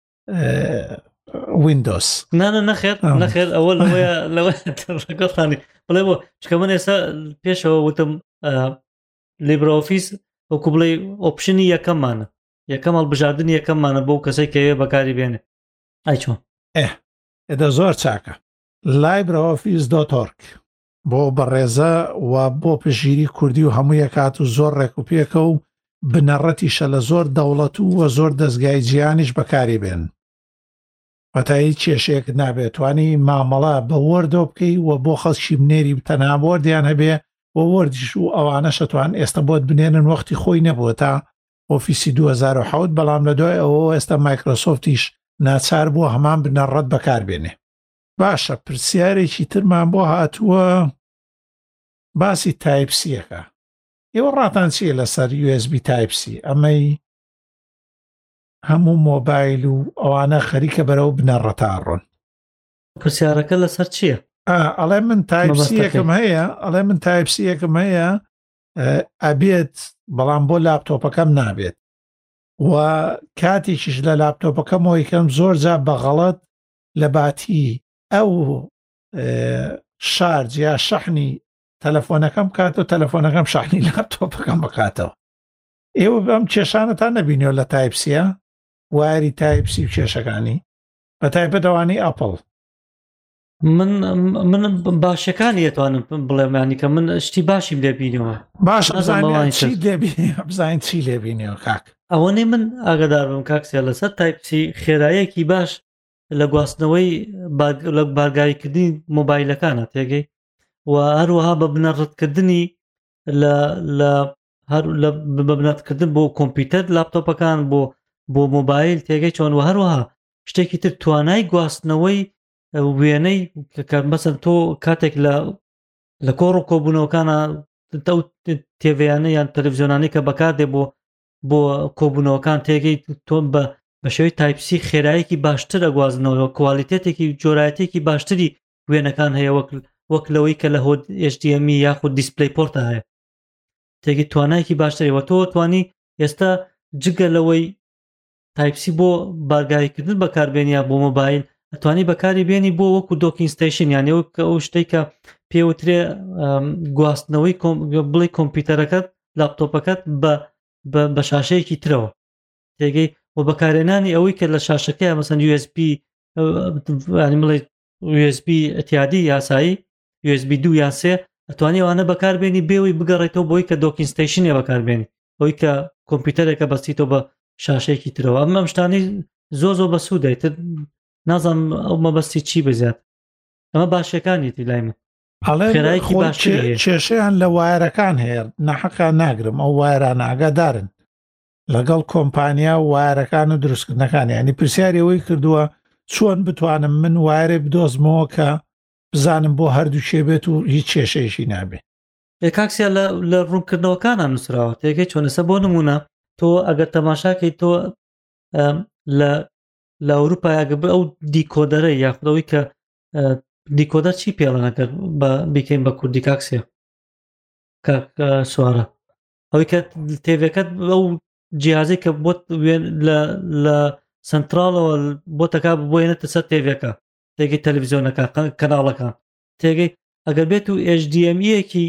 [SPEAKER 2] ویندۆس
[SPEAKER 3] نانە نەخێر نەخێر ئەوە لەوەیە لەوەگەڵانی بڵێ بۆ چکە من ئێستا پێشەوە وتم لیبرە ئۆفیس وەکو بڵێ ئۆپشنی یەکەممانە یەکەم هەڵبژاردننی یەکەممانە بۆ کەسێک کەوێ بەکاری بێنێ ئای چۆن
[SPEAKER 2] ئێ ئێدە زۆر چاکە لایبرە ئۆفیس دۆت ئۆرگ بۆ بەڕێزە و بۆ پژگیری کوردی و هەموو یەکات و زۆر ڕێکوپێکە و بنەڕەتیشە لە زۆر دەوڵەت و وە زۆر دەستگای جیانیش بەکاری بێن وەتایی کێشەیەک نابێتوانی مامەڵە بە وەردۆ بکەی و بۆ خەڵکی بنێری تەنها وەردیان هەبێ و وەردیش و ئەوانە شەتوان ئێستا بۆت بنێنن وەختی خۆی نەبووە تا ئۆفیسی دوو هەزار و حەوت بەڵام لە دوای ئەوە ئێستا مایکرۆسۆفتیش ناچار بووە هەمان بنەڕەت بەکاربێنێ باشە پرسیارێکی ترمان بۆ هاتووە باسی تایپسیەکە ئێوە ڕاتان چیە لەسەر یو ئێس بی تایپسی ئەمەی هەموو مۆبایل و ئەوانە خەریکە بەرەو بنەڕەتا ڕۆن
[SPEAKER 3] پرسیارەکە لەسەر چییە؟
[SPEAKER 2] ئەڵێ من تایپسیەکەم هەیە ئەڵێ من تایپسیەکەم هەیە ئەبێت بەڵام بۆ لاپتۆپەکەم نابێت و کاتێکیش لە لاپتۆپەکەمەوە یکەم زۆر جا بەغەڵەت لە باتی ئەو شارج یا شەحنی تەلەفۆنەکەم کاتەوە تەلەفۆنەکەم شەحنی لاپتۆپەکەم بکاتەوە ئێوە بەم کێشانەتان نەبینیەوە لە تایپسیە واری تایپسی و کێشەکانی بە تایپەتەوانی ئەپڵ
[SPEAKER 3] من من باشەکانی دەتوانم بڵێمانی کە من شتی باشیم لێبینەوە
[SPEAKER 2] باش بزانین چی لێبینەوە کاک
[SPEAKER 3] ئەوەنێ من ئاگدار بم کاکسیا لەسەر تایپسی خێراییەکی باش لە گواستنەوەی لە بارگاییکردنی مۆبایلەکانە تێگەی و هەروەها بە بنەڕەتکردنی لە لە هەر لە ببنەتکردن بۆ کۆمپیوتەر لاپتۆپەکان بۆ بۆ مۆبایل تێگەی چۆن و هەروەها شتێکی تر توانای گواستنەوەی وێنەی کە مەسەن تۆ کاتێک لە لە کۆڕ و کۆبوونەوەکانە تێڤیانە یان تەلەڤیزیۆنانی کە بەکاردێ بۆ بۆ کۆبوونەوەکان تێگەی تۆ بە بە شێوەی تایپسی خێراییەکی باشتر ئەگوازنەوە کوالیتێتێکی جۆرایەتێکی باشتری وێنەکان هەیە وەک وەک لەوەی کە لە هۆد ئێچ دی ئەم ای یاخود دیسپلەی پۆرتە هەیە تێگەی توانایەکی باشترەوە تۆ توانی ئێستا جگە لەوەی تایپسی بۆ بارگاییکردن بەکاربێنیا بۆ مۆبایل ئەتوانی بەکاری بێنی بۆ وەکو دۆکینستیشن یانێ ئەو شتەی کە پێوترێ گواستنەوەی بڵێ کۆمپیوتەرەکەت لاپتۆپەکەت بە شاشەیەکی ترەوە تێگەی و بەکارێنانی ئەوەی کە لە شاشەکەی مەسەن یو ئێس بی بڵێ یو ئێس بی ئەتیادی یاسایی یو ئێس بی دوو یان سێ ئەتوانی ئەوانە بەکاربێنی بێەوەی بگەڕێتەوە بۆی کە دۆکینستیشنێ بەکاربێنی ئەوەی کە کۆمپیوتەرێکە بەستیتەوە بە شاشەیەکی ترەوە ئەم ئەم شتانی زۆ زۆ بە سوودایتر نازانم ئەو مەبەستی چی بزیات ئەمە باشەکانیتی لای من خێرایکی باش
[SPEAKER 2] کێشەیان لە وایرەکان هەیە نەحەقا ناگرم ئەو وایران ئاگادارن لەگەڵ کۆمپانیا و وایرەکان و دروستکردنەکان ینی پرسیارەوەی کردووە چۆن بتوانم من وایرێ بدۆزمەوە کە بزانم بۆ هەردوو شێبێت و هیچ کێشەیەشی نابێت
[SPEAKER 3] کاکسیا لە ڕوونکردنەوەکانان نووسراوە تێگەی چۆنەسە بۆ نمونە تۆ ئەگەر تەماشاکەی تۆ لە لە ئەوروپا یاگەب ئەو دیکۆدەرە یاخودەوەی کە دیکۆدەر چی پێڵەنەکە بە بیکەین بە کوردی کاکسیا سوارە ئەوەی کە تێڤەکەت ئەو جیازەی کە بۆت لە سنترالەوە بۆ تەکا بۆێنێتە سەر تێڤەکە تێگەی تەلەڤیزیۆنەکە کەناڵەکان تێگەی ئەگەر بێت و ئێچ دی ئەم ایەکی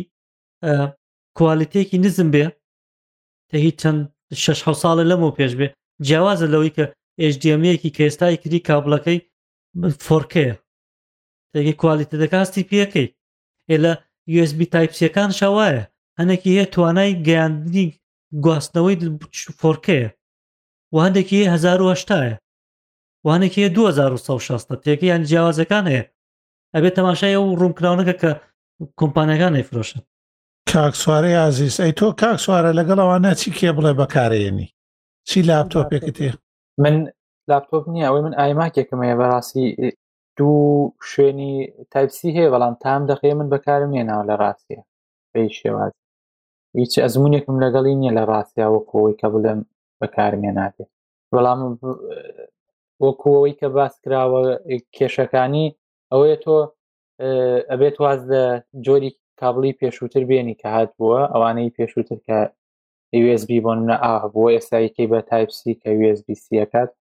[SPEAKER 3] کوالیتێکی نزم بێ تە هیچ چەند شەش حەوت ساڵە لەمەوە پێش بێ جیاوازە لەوەی کە ئێچ دی ئەم ای کێستای کردی کابلەکەی فۆر کێ تێگەی کوالیتە دەکاستی پێەکەی ئێلە یو اس بی تایپ سیەکان شەوایە هەنێکی هەیە توانای گەیاندنی گواستنەوەی فۆر کێ و هەندێکی هەیە هەزار و هەشتایە وانێکی هەیە دوو هەزار و سەد و شەستە تێکە یان جیاوازەکان هەیە ئەبێت تەماشای ئەو ڕوونکراونەکە کە کۆمپانیەکان ئەیفرۆشن.
[SPEAKER 2] کاک سوارەی عزیز ئەی تۆ کاک سوارە لەگەڵ ئەوانە چی کێ بڵێ بەکارێنی چی لاپتۆپێکت هەیە؟
[SPEAKER 1] من لاپتۆپ نییە ئەوەی من ئایماکێکم هەیە بەڕاستی دوو شوێنی تایپسی هەیە بەڵام تام دەخێ من بەکارم نێناوە لە ڕاستیە بەی شێواز هیچ ئەزمونێکم لەگەڵی نییە لە ڕاستیا وەکەوەی کە بڵێم بەکارمێ ناتێت بەڵام وەکوەوەی کە باس کراوە کێشەکانی ئەوەیە تۆ ئەبێت واز لە جۆری کابلی پێشووتر بێنی کە هات بووە ئەوانەی پێشووتر کە یو اس بی بۆ نە ئا بووە ئێستایەکەی بە تایپسی کە یو اس بی سیەکات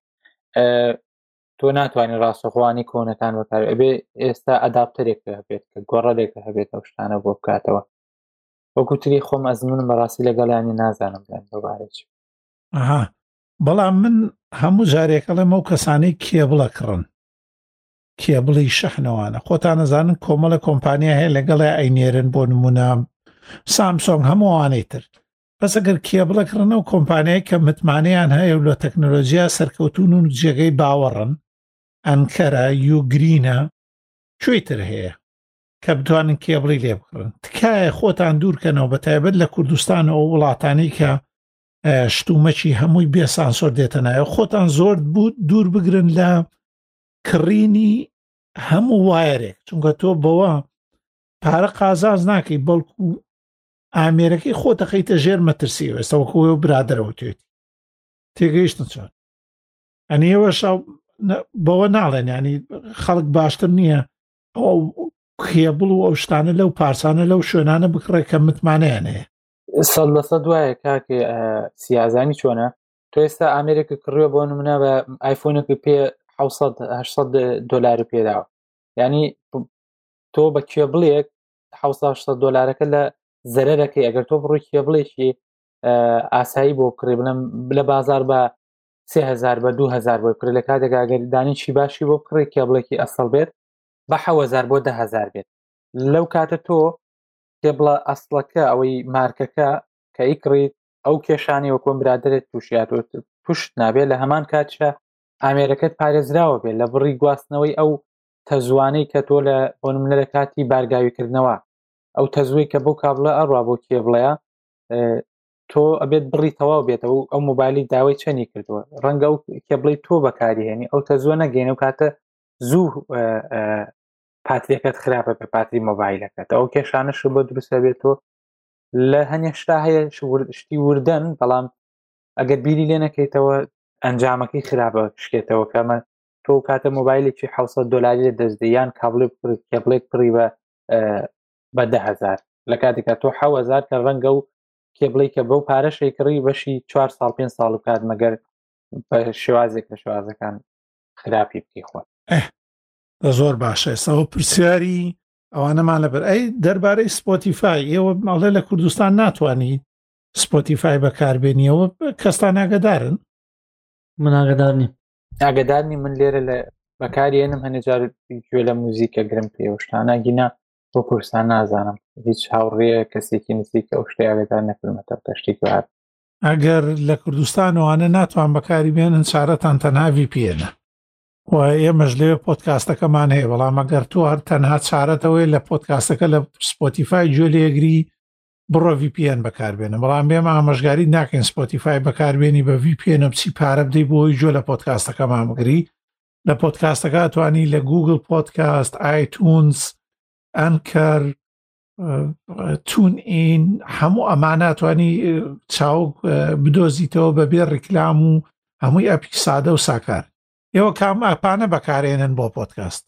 [SPEAKER 1] تۆ ناتوانانی ڕاستەخوانی کۆنەکان بەکار ئەبێ ئێستا ئەداپتەرێک هەبێت کە گۆڕەلێکە هەبێت ئەو شتانە بۆ بکاتەوە وەکوتری خۆم ئەزمونم بەڕاستی لەگەڵیانی نازانم بڵێن بەبارەی
[SPEAKER 2] ئەها بەڵام من هەموو جارێکەڵێم ئەو کەسانەی کێبڵە کڕن کێبڵی شەحنەوانە خۆتان نەزانن کۆمەڵە کۆمپانیا هەیە لەگەڵی ئەینێرن بۆ نمونە سامسۆنگ هەمووانەی تر بەس ئەگەر کێبڵە کڕنە و کۆمپانیای کە متمانەیان هەیە و لە تەکنۆلۆژیا سەرکەوتون و جێگەی باوەڕن ئەنکەرە یوگرینە کوێی تر هەیە کە بتوانن کێبڵی لێ بکڕن تکایە خۆتان دوورکەنەوە بە تایبەت لە کوردستان ئەو وڵاتانی کە شتومەکی هەمووی بێ سانسۆر دێتە نایە خۆتان زۆر بوو دوور بگرن لە کڕینی هەموو وایەرێک چونکە تۆ بەوە پارە قازاز ناکەی بەڵکو ئامێرەکەی خۆتەخەیتە ژێر مەترسی ئێستا وەکوەوە برادرەوە توێتی تێگەیشتن چۆن ئەنی ئێوە بەوە ناڵێن ینی خەڵک باشتر نییە ئەو کێبڵ و ئەو شتانە لەو پارسانە لەو شوێنانە بکڕێ کە متمانەیان هەیە
[SPEAKER 1] سەد لە سەد وایە کاکێ سیازانی چۆنە تۆ ئێستا ئامێرێکە کڕوە بۆ نمونە بە ئایفۆنێکی پێ حەوت هەشت دۆلار پێداوە ینی تۆ بە کێبڵێک حەوت دۆلارەکە لە زەرەرەکەی ئەگەر تۆ بڕووی کێبڵێکی ئاسایی بۆ کڕێ بڵم لە بازار بە سێ هەزار بە دوو هەزار بۆ کڕێ لە کاتێکا ئەگەر دانیشی باشی بۆ بکڕێ کێبڵێکی ئەسڵ بێت بە حەوت هەزار بۆ ده هەزار بێت لەو کاتە تۆ کێبڵە ئەسڵەکە ئەوەی مارکەکە کە ئیکڕیت ئەو کێشانی وەکۆم برادرێت تووشیات توشت نابێت لە هەمان کاتشە ئامێرەکەت پارێزراوە بێت لە بڕی گواستنەوەی ئەو تەزوانەی کە تۆ لە بۆ نمونە لە کاتی بارگاویکردنەوە ئەو تەزوی کە بۆ کابلە ئەڕوا بۆ کێبڵەیە تۆ ئەبێت بڕی تەواو بێتەوە ئەو مۆبایلی داوای چەنی کردووە ڕەنگە ئەو کێبڵی تۆ بەکاریهێنی ئەو تەزوە نەگەینە و کاتە زوو پاتریەکەت خراپە بە پاتری مۆبایلەکەت ئەو کێشانەش بۆ دروستە بێت تۆ لە هەنێ شتا هەیە شتی وردەن بەڵام ئەگەر بیری لێ نەکەیتەوە ئەنجامەکەی خراپە شکێتەوە کەمە تۆ کاتە مۆبایلێکی حەوت دۆلاری لە دەستدەیان کابل کێبڵێک پڕی بە بە ده هەزار لە کاتێکە تۆ حەوت هەزار کە ڕەنگە و کێبڵی کە بەو پارەشەی کڕی بەشی چوار ساڵ پێنج ساڵ بکات مەگەر بە شێوازێک لە شێوازەکان خراپی بکەی خۆت
[SPEAKER 2] زۆر باشە ئێستاەوە پرسیاری ئەوانەمان لەبەر ئەی دەربارەی سپۆتیفای ئێوە ماڵێ لە کوردستان ناتوانانی سپۆتیفای بەکاربێنیەوە کەستان ئاگدارن
[SPEAKER 3] من ئاگدارنی
[SPEAKER 1] ئاگدارنی من لێرە لە بەکارێنم هەنێ جار گوێ لە موزیکە گرم پێوەشتانە گینا بۆ کوردستان نازانم هیچ هاوڕێە کەسێکی نزیکە ئەو شتەی ئاگدار نەکردمەتە تەشتی بار
[SPEAKER 2] ئەگەر لە کوردستانەوانە ناتوان بەکاری بێنن چارەتان تەنها ڤی پی ئێنە و ئێمەش لێ پۆدکاستەکەمان هەیە بەڵام ئەگەر تۆ هەر تەنها چارەتەوەی لە پۆدکاستەکە لە سپۆتیفای گوێ لێگری بڕۆ ڤی پی ئێن بەکاربێنە بەڵام بێمە ئاماژگاری ناکەین سپۆتیفای بەکاربێنی بە ڤی پی ئێنە بچی پارە بدەی بۆی گوێ لە پۆدکاستەکەمان بگری لە پۆدکاستەکە توانی لە گوگل پۆدکاست ئایتونز ئەنکەر تون ئین هەموو ئەمانە توانی چاوک بدۆزیتەوە بەبێ ڕیکلام و هەمووی ئەپی سادە و ساکار ئێوە کام ئاپانە بەکارێنن بۆ پۆدکاست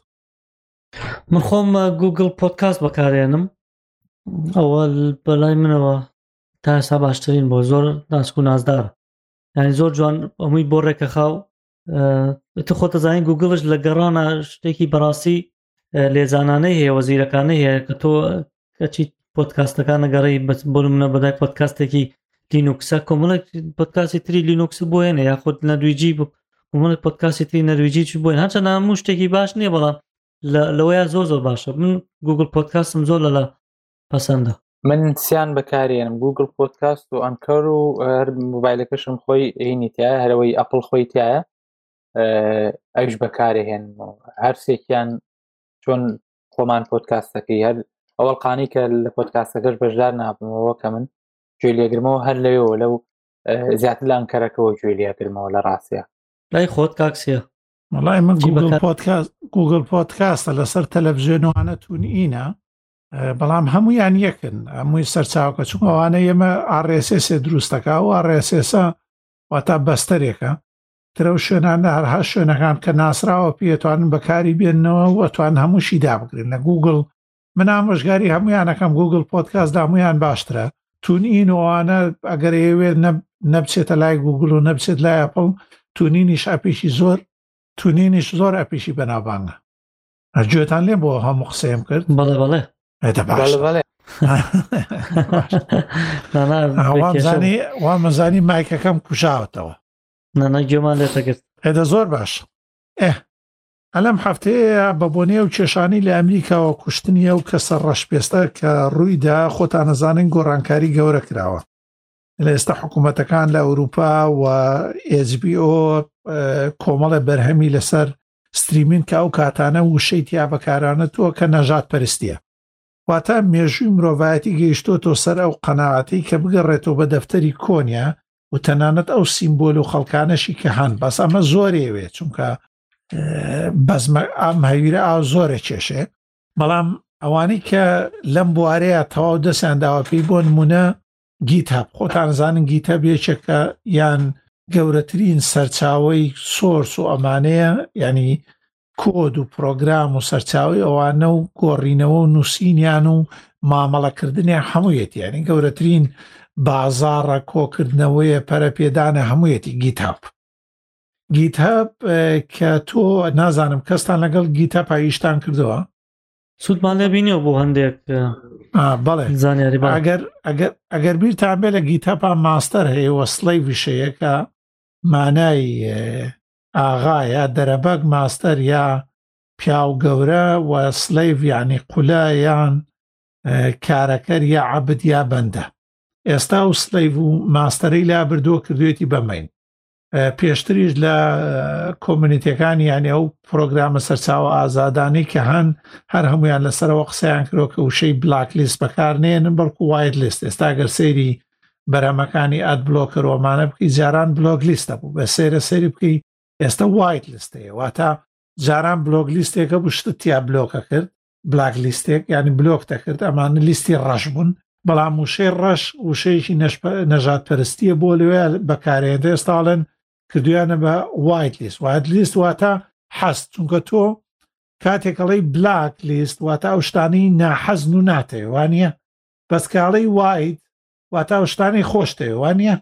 [SPEAKER 3] من خۆم گوگل پۆدکاست بەکارێنم ئەوە بەلای منەوە تا ئێستا باشترین بۆ زۆر ناسک و نازدار یعنی زۆر جوان ئەمووی بۆ ڕێکەخاو تو خۆتە زانین گوگڵش لە گەڕانە شتێکی بەڕاستی لێزانانەی هەیە وەزیرەکانەی هەیە کە تۆ کەچی پۆدکاستەکان نەگەڕی بۆ منە بەدای پۆدکاستێکی لینوکسە کۆمەڵێک پۆدکاستی تری لینوکس بۆ هێنە یاخود لە دویجی من پۆدکاستی نەرویجی چ بووین هەرچەند هەموو شتێکی باش نییە بەڵام لەوەیە زۆر زۆر باشە من گوگل پۆدکاستم زۆر لەلا پەسەندە
[SPEAKER 1] من سیان بەکارێنم گوگل پۆدکاست و ئەنکەر و هەر مۆبایلەکەشم خۆی هینی تایە هەرەوەی ئەپڵ خۆی تایە ئەوش بەکارێهێن هەر سێکیان چۆن خۆمان پۆدکاستەکەی هەر ئەوەڵقانی کە لە پۆدکاستەکەش بەشدار نابمەوە کە من گوێ لێگرمەوە هەر لەوێەوە لەو زیاتر لە ئەنکەرەکەەوە گوێ لێگرمەوە لە ڕاستیە
[SPEAKER 3] لای خۆت کاکسیە
[SPEAKER 2] وڵای من گوگل پۆدکاست گوگل پۆدکاستە لەسەر تەلەڤیزیۆنوانە تونئینە بەڵام هەمویان یەکن هەمووی سەرچاوکە چون ئەوانە ئێمە ئار ئێس ئێس دروستەکە و ئار ئێس ئێسە واتە بەستەرێکە ترە شوێنانە هەرها شوێنەکان کە ناسراوە پێتوانن بەکاری بێننەوە وەتوان هەمووشی دابگرن لە گوگل من ئامۆژگاری هەمویانەکەم گوگل پۆدکاست هەمویان باشترە تونئین وانە ئەگەر ئێوێ نەبچێتە لای گوگل و نەبچێت لای ئەپڵ تونینیش ئەپیشی زۆر تونینیش زۆر ئەپیشی بەناوبانگە گوێتان لێ بۆ هەموو قسەیم کرد
[SPEAKER 3] بەڵێ بەڵێ
[SPEAKER 2] وا مەزانی مایکەکەم کوشاوتەوە
[SPEAKER 3] نانە گوێمان لێتەگرت
[SPEAKER 2] هێدە زۆر باش ئێ ئەلەم هەفتەیە بە بۆنێ و کێشانی لە ئەمریکاوە کوشتنیە و کەسە ڕەشپێستە کە ڕوویدا خۆتان نەزانن گۆڕانکاری گەورە کراوە لە ئێستا حکوومەتەکان لە ئەوروپا و ئێچ بی ئۆ کۆمەڵە بەرهەمی لەسەر ستریمین کە ئەو کاتانە وشەی تیا بەکارانەتەوە کە نەژات پەرستیە واتە مێژووی مرۆڤایەتی گەیشتۆتۆ سەر ئەو قەناعەتی کە بگەڕێتەوە بە دەفتەری کۆنیا و تەنانەت ئەو سیمبۆل و خەڵکانەشی کە هەن بەس ئەمە زۆرێوێ چونکە بەزمە ئام هەویرە ئاو زۆرە کێشێ بەڵام ئەوانەی کە لەم بوارەیە تەواو دەستیان داوە پێی بۆ نمونە گیتاب خۆتان زانن گیتە بێچێکە یان گەورەترین سەرچاوەی سۆرس و ئەمانەیە ینی کۆد و پرۆگرام و سەرچاوی ئەوانە و گۆڕینەوە و نووسینیان و مامەڵەکردنیان هەموویەتی ینی گەورەترین بازاڕە کۆکردنەوەیە پەرەپێدانە هەموویەتی گیتاب گیتاب کە تۆ نازانم کەستان لەگەڵ گیتە پاییشتان کردەوە
[SPEAKER 3] سوودمان لێ بینیەوە بۆ هەندێک
[SPEAKER 2] بەڵێ
[SPEAKER 3] زانیاری
[SPEAKER 2] ئەگەر ئەگەر بیرتان بێ لە گیتەپان ماستەر هەیە وەسڵەی وشەیە کە مانای ئاغایە دەرەبەک ماستەر یا پیاو گەورە و سلەیڤ یعنی قولە یان کارەکەر یا عەبد یا بەندە ئێستا و سلەیڤ و ماستەرەی لا بردووە کردوێتی بەمەین پێشتریش لە کۆمونیتیەکانی یانی ئەو پرۆگرامە سەرچاوە ئازادانی کە هەن هەر هەمویان لەسەرەوە قسەیان کرۆ کە وشەی بلاک لیست بەکارنێنن بەڵکو وایت لیست ئێستا گەر سەیری بەرەمەکانی ئەد بلۆکەرۆمانە بکەی جاران بلۆگ لیستە بوو بە سێرە سەری بکەی ئێستا وایت لیستەیە واتە جاران بلۆگ لیستێکە بشتت تیا بلۆکە کرد بلاک لیستێک ینی بلۆک دەکرد ئەمانە لیستی ڕەش بوون بەڵام وشەی ڕەش وشەیەکی نەژاد پەرستیە بۆ لەوێ بەکارێنێت ئێستاڵێن کردویانە بە وایت لیست وایت لیست واتە حەست چونکە تۆ کاتێکەڵی بلاک لیست واتە ئەو شتانەی ناحەزن و ناتەوێ وانە بەسکاڵی وایت واتە ئەو شتانەی خۆشتەوێ وانە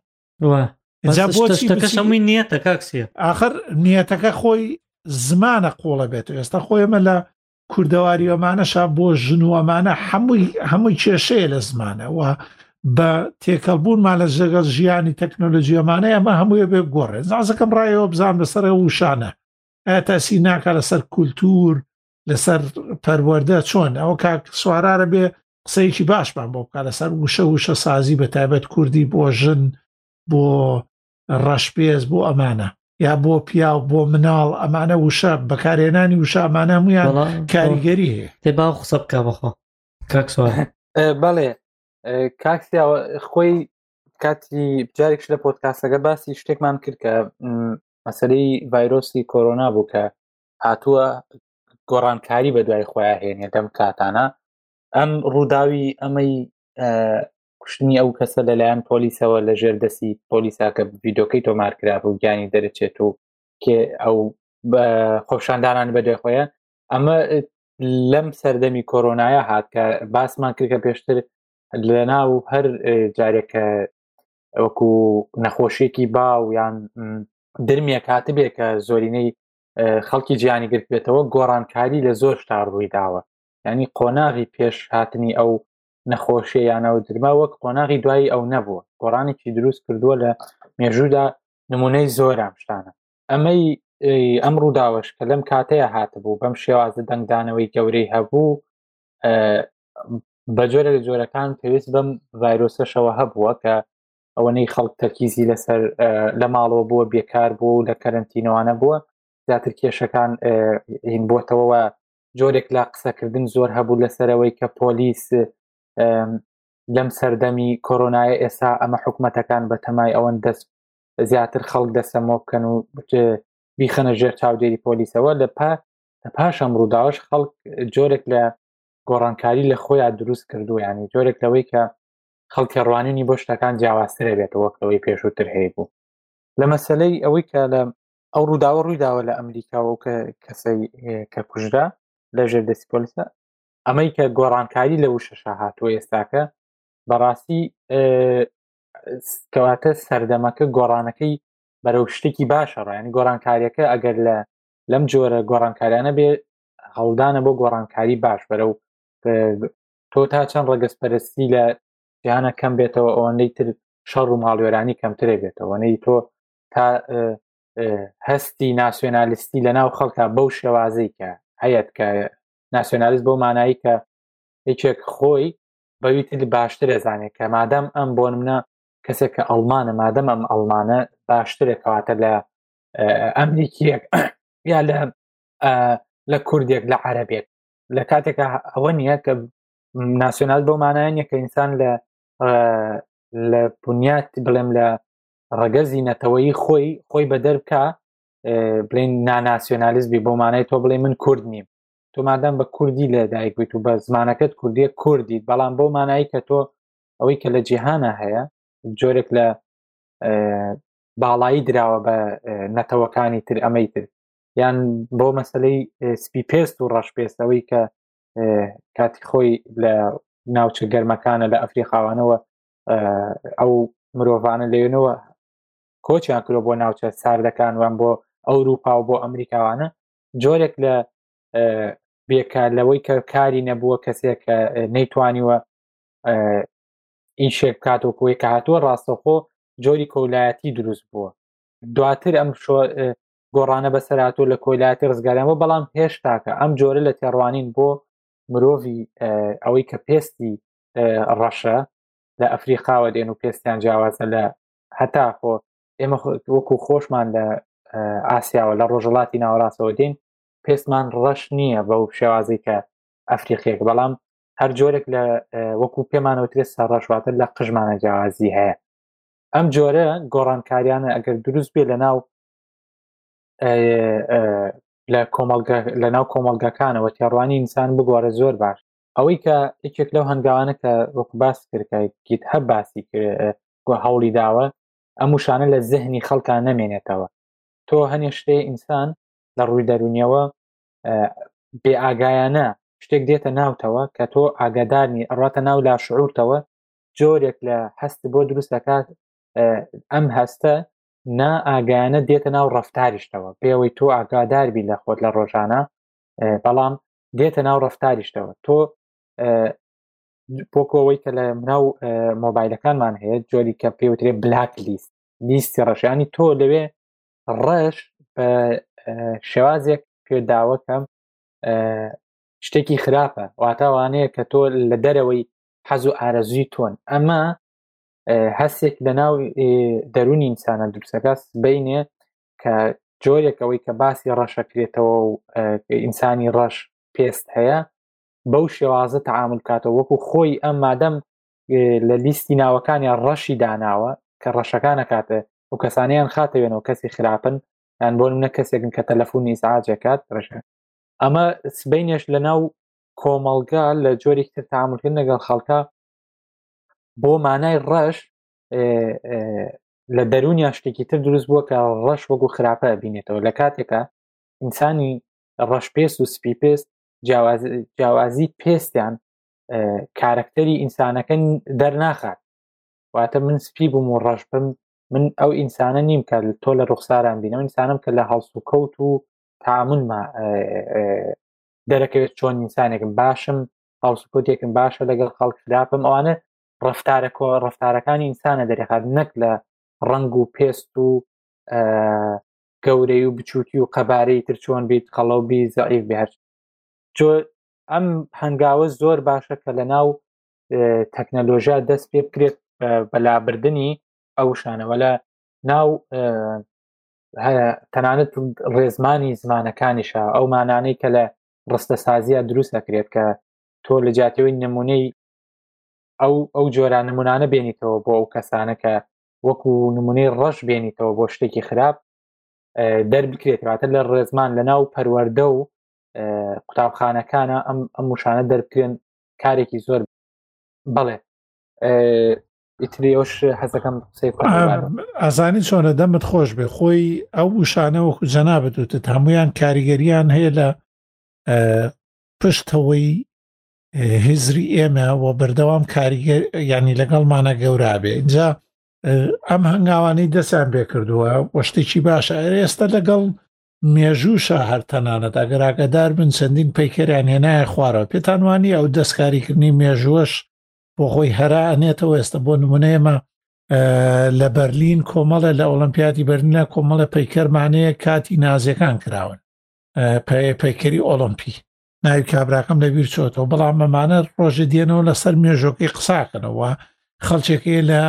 [SPEAKER 3] شتەکەشەمووی نیەتە کاکسیە
[SPEAKER 2] ئاخر نیەتەکە خۆی زمانە قۆڵە بێت ئێستا خۆی ئەمە لە کوردەواری ئەمانەشا بۆ ژن و ئەمانە هەمووی هەمووی کێشەیە لە زمانە و بە تێکەڵبوونمان لە ژەگەڵ ژیانی تەکنۆلۆژیەمانە ئەمە هەموویە بێ گۆڕێ زازەکەم ڕایەوە بزان بەسەر وشانە ئایا تاسی ناکە لەسەر کولتور لەسەر پەروەردە چۆن ئەوە کاک سوارارە بێ قسەیەکی باشمان بۆ بکە لەسەر وشە وشە سازی بە تایبەت کوردی بۆ ژن بۆ ڕەشپێز بۆ ئەمانە یا بۆ پیاو بۆ مناڵ ئەمانە وشە بەکارێنانی وشە ئەمانە هەمویان کاریگەری هەیە
[SPEAKER 3] تێبا قسە بکە بەخۆ کاک سوار
[SPEAKER 1] بەڵێ کاکسیا خۆی کاتی جارێکش لە پۆدکاستەکە باسی شتێکمان کرد کە مەسەلەی ڤایرۆسی کۆرۆنا بوو کە هاتووە گۆڕانکاری بە دوای خۆیان هێنێ دەم کاتانە ئەم ڕووداوی ئەمەی کوشتنی ئەو کەسە لەلایەن پۆلیسەوە لە ژێر دەستی پۆلیسا کە ڤیدۆکەی تۆمار کرا بوو گیانی دەرەچێت و کێ ئەو خۆشاندانان بە دوای خۆیان ئەمە لەم سەردەمی کۆرۆنایە هات کە باسمان کرد کە پێشتر لە ناو هەر جارێکە وەکو نەخۆشیێکی باو یان درمێک هاتبێ کە زۆرینەی خەڵکی جیانی گرت بێتەوە گۆڕانکاری لە زۆر شتا ڕووی داوە ینی قۆناغی پێش هاتنی ئەو نەخۆشیە یانەوە درما وەک قۆناغی دوایی ئەو نەبووە گۆڕانێکی دروست کردووە لە مێژوودا نمونەی زۆر ئەم شتانە ئەمەی ئەم ڕووداوەش کە لەم کاتەیە هاتبوو بەم شێوازە دەنگدانەوەی گەورەی هەبوو بە جۆرە لە جۆرەکان پێویست بەم ڤایرۆسەشەوە هەبووە کە ئەوەنەی خەڵک تەرکیزی لەسەر لە ماڵەوە بووە بێکار بوو لە کەرنتینەوانە بووە زیاتر کێشەکان هین بۆتەوە جۆرێک لا قسەکردن زۆر هەبوو لەسەرەوەی کە پۆلیس لەم سەردەمی کۆرۆنایە ئێستا ئەمە حکومەتەکان بە تەمای ئەوەن دەست زیاتر خەڵک دەسەمۆ بکەن و بیخەنە ژێر چاودێری پۆلیسەوە لە پاش ئەم ڕووداوەش خەڵک جۆرێک لە گۆڕانکاری لە خۆیان دروست کردو ینی جۆرێک لەوەی کە خەڵکی ڕوانینی بۆ شتەکان جیاوازترە بێتەوە وەکەوەی پێشووتر هەیە بوو لە مەسەلەی ئەوەی کە لە ئەو ڕووداوە ڕوویداوە لە ئەمریکاوە کە کەسەی کە کوژرا لە ژێر دەستی پۆلیسە ئەمەی کە گۆڕانکاری لە وشەشە هاتووە ئێستاکە بەڕاستی کەواتە سەردەمەکە گۆڕانەکەی بەرەو شتێکی باشە ڕایانی گۆڕانکاریەکە ئەگەر لە لەم جۆرە گۆڕانکاریانە بێ هەڵدانە بۆ گۆڕانکاری باش بەرەو تۆ تا چەند ڕەگەزپەرستی لە جیهانە کەم بێتەوە ئەوەندەی تر شەڕ و ماڵوێرانی کەمترێ بێتەوەنەی تۆ تا هەستی ناسیۆنالیستی لە ناو خەڵکە بەو شێوازەی کە هەیەت کە ناسیۆنالیست بۆ مانایی کە هیچێک خۆی بەویتر باشتر ئەزانێت کە مادەم ئەم بۆ منە کەسێک کە ئەڵمانە مادەم ئەم ئەڵمانە باشترێکەواتە لە ئەمریکیەک یا لە لە کوردێک لە عەرەبێک لە کاتێکە ئەوە نییە کە ناسیۆنال بۆ مانایە نیە کە ئینسان لە لە بنیات بڵێم لە ڕەگەزی نەتەوەیی خۆی خۆی بە دەربکە بڵێن ناناسیۆنالیست بی بۆ مانای تۆ بڵێ من کورد نیم تۆ مادەم بە کوردی لە دایکبیت و بە زمانەکەت کوردیە کوردیت بەڵام بۆ مانایی کە تۆ ئەوەی کە لە جیهانە هەیە جۆرێک لە باڵایی دراوە بە نەتەوەکانی تر ئەمەی تر یان بۆ مەسلەی سپی پێست و ڕەش پێستەوەی کە کاتی خۆی لە ناوچە گەرمەکانە لە ئەفریقاوانەوە ئەو مرۆڤانە لێنەوە کۆچیان کرۆ بۆ ناوچە ساردەکان وان بۆ ئەوروپا و بۆ ئەمریکاوانە جۆرێک لە بێکار لەوەی کە کاری نەبووە کەسێک کە نەیتوانیوە ئیشێک کاتۆکۆی کە هاتووە ڕاستەخۆ جۆری کۆلایەتی دروست بووە دواتر ئەم گۆڕانە بەسەراتۆ لە کۆلایەتی ڕزگاریان بۆ بەڵام هێشتاکە ئەم جۆرە لە تێڕوانین بۆ مرۆڤی ئەوەی کە پێستی ڕەشە لە ئەفریقاوە دێن و پێستیان جیاوازە لە هەتا خۆ ئێمە وەکو خۆشمان لە ئاسیاوە لە ڕۆژەڵاتی ناوەڕاستەوە دێن پێستمان ڕەش نییە بەو شێوازی کە ئەفریقیەک بەڵام هەر جۆرێک لە وەکو پێمانەوترێ سەرڕەشواتر لە قژمانە جیاوازی هەیە ئەم جۆرە گۆڕانکاریانە ئەگەر دروست بێ لە ناو لە کۆمەڵگە لە ناو کۆمەڵگەکانەوە تێڕوانی ئینسان بگۆڕە زۆر باش ئەوەی کە یەکێک لەو هەنگاوانە کە وەکو باس کردکیت هەب باسی هەوڵی داوە ئەم وشانە لە زەهنی خەڵکان نەمێنێتەوە تۆ هەنێ شتێ ئینسان لە ڕووی دەرونیەوە بێ ئاگایانە شتێک دێتە ناوتەوە کە تۆ ئاگادارنی ئەڕاتە ناو لا شعورتەوە جۆرێک لە هەست بۆ دروست دەکات ئەم هەستە نا ئاگایانە دێتە ناو ڕەفتاریشتەوە پێوەی تۆ ئاگاداربی لە خۆت لە ڕۆژانە بەڵام دێتە ناو ڕەفتاریشتەوە تۆ بۆکەوەی کە لە ناو مۆبایلەکانمان هەیە جۆری کە پێوترێ بلاک لیست لیستی ڕەشانی تۆ لەوێ ڕەش بە شێوازێک پێداوەکەم شتێکی خراپە واتاوانەیە کە تۆ لە دەرەوەی حەز و ئارەزوی تۆن ئەمە هەستێک لە ناو دەرونی ئینسانە دروستەکەس بینێ کە جۆرێک ئەوەی کە باسی ڕەشەکرێتەوە و ئینسانی ڕەش پێست هەیە بەو شێوازە تەعامل کاتەوە وەکو خۆی ئەم مادەم لە لیستی ناوەکانیان ڕەشی داناوە کە ڕەشەکانە کاتە و کەسانیان خاتەوێنەوە کەسی خراپن یان بۆ منە کەسێکن کە تەلەفۆنی ئیزعاجەکات ڕەشە ئەمە سبینێش لە ناو کۆمەڵگا لە جۆرێک تر تەعاملکردن لەگەڵ خەڵکە بۆ مانای ڕەش لە دەرونیان شتێکی تر دروست بووە کە ڕەش وەکو خراپە بینێتەوە لە کاتێکە ئینسانی ڕەش پێست و سپی پێست جیاوازی پێستیان کارکتەری ئینسانەکە دەرناخات واتە من سپی بووم و ڕەش بم من ئەو ئینسانە نیم کە تۆ لە ڕوخساران بینەوە ئینسانم کە لە هەڵس و کەوت و تەعاملمە دەرەکەوێت چۆن ئینسانێکم باشم هەڵس و کەوتێکم باشە لەگەڵ خەڵک خراپم ئەوانە ڕەفتارە ڕەفتارەکانی ئینسانە دەرێخات نەک لە ڕنگ و پێست و گەورەی و بچووکی و قەبارەی تر چۆن بیت قەڵەو بی زەعیف بێت جۆ ئەم هەنگاوە زۆر باشە کە لە ناو تەکنەلۆژیا دەست پێ بکرێت بەلابردنی ئەو شانەوە لە ناو تەنانەت ڕێزمانی زمانەکانیشە ئەو مانانەی کە لە ڕستە سازیە دروست دەکرێت کە تۆ لە جاتەوەی نمونەی ئەو ئەو جۆران نمونانە بێنیتەوە بۆ ئەو کەسانە کە وەکو نمونەی ڕەش بێنیتەوە بۆ شتێکی خراپ دەربکرێتواتە لە ڕێزمان لە ناو پەروەردە و قوتابخانەکانە ئەم ئەم وشانە دەربکرێن کارێکی زۆر بەڵێ ئیتریۆش حەزەکەم
[SPEAKER 2] ئازانی چۆنە دەمت خۆش بێ خۆی ئەو وشانە وەکو جەنابەت وتت هەمویان کاریگەریان هەیە لە پشتەوەی هزری ئێمە و بەردەوام کاریگەر ینی لەگەڵمانە گەورا بێ اینجا ئەم هەنگاوانەی دەستیان پێ کردووە وە شتێکی باشە ئێستا لەگەڵ مێژووشە هەر تەنانەت ئەگەر ئاگادار بن چەندین پەیکەریان هێنایە خوارەوە پێتان وانی ئەو دەستکاریکردنی مێژووەش بۆ خۆی هەرا ئەنێتەوە ئێستا بۆ نمونەیەمە لە بەرلین کۆمەڵە لە ئۆلمپیاتی بەرلینە کۆمەڵە پەیکەرمانەیە کاتی نازیەکان کراون پەیکەری ئۆلمپی ناوی کابراکەم لەبیر چۆتەوە بەڵام ئەمانە ڕۆژە دێنەوە لەسەر مێژۆکەی قساکەنەوە خەڵچێکی لە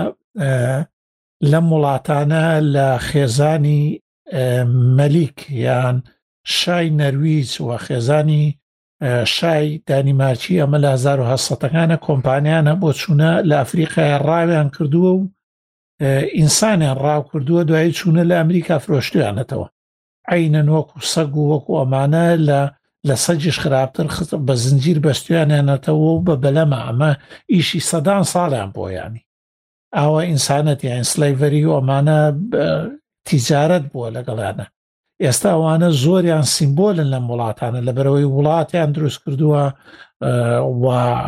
[SPEAKER 2] لە وڵاتانە لە خێزانی مەلیک یان شای نەرویج و خێزانی شای دانیمارکی ئەمە لە هەزار و هەشت کۆمپانیانە بۆ چوونە لە ئەفریقای ڕاویان کردووە و ئینسانیان ڕاو کردووە دوایی چوونە لە ئەمریکا فرۆشتویانەتەوە عینەن وەکو سەگ و وەکو ئەمانە لە لە سەجش خراپتر بە زنجیر بەستویانێنێتەوە و بە بەلەمە ئەمە ئیشی سەدان ساڵیان بۆ ینی ئاوە ئینسانەت یان سلەیڤەری و ئەمانە تیجارەت بووە لەگەڵیانە ئێستا ئەوانە زۆریان سیمبۆلن لەم وڵاتانە لەبەرەوەی وڵاتیان دروست کردووە و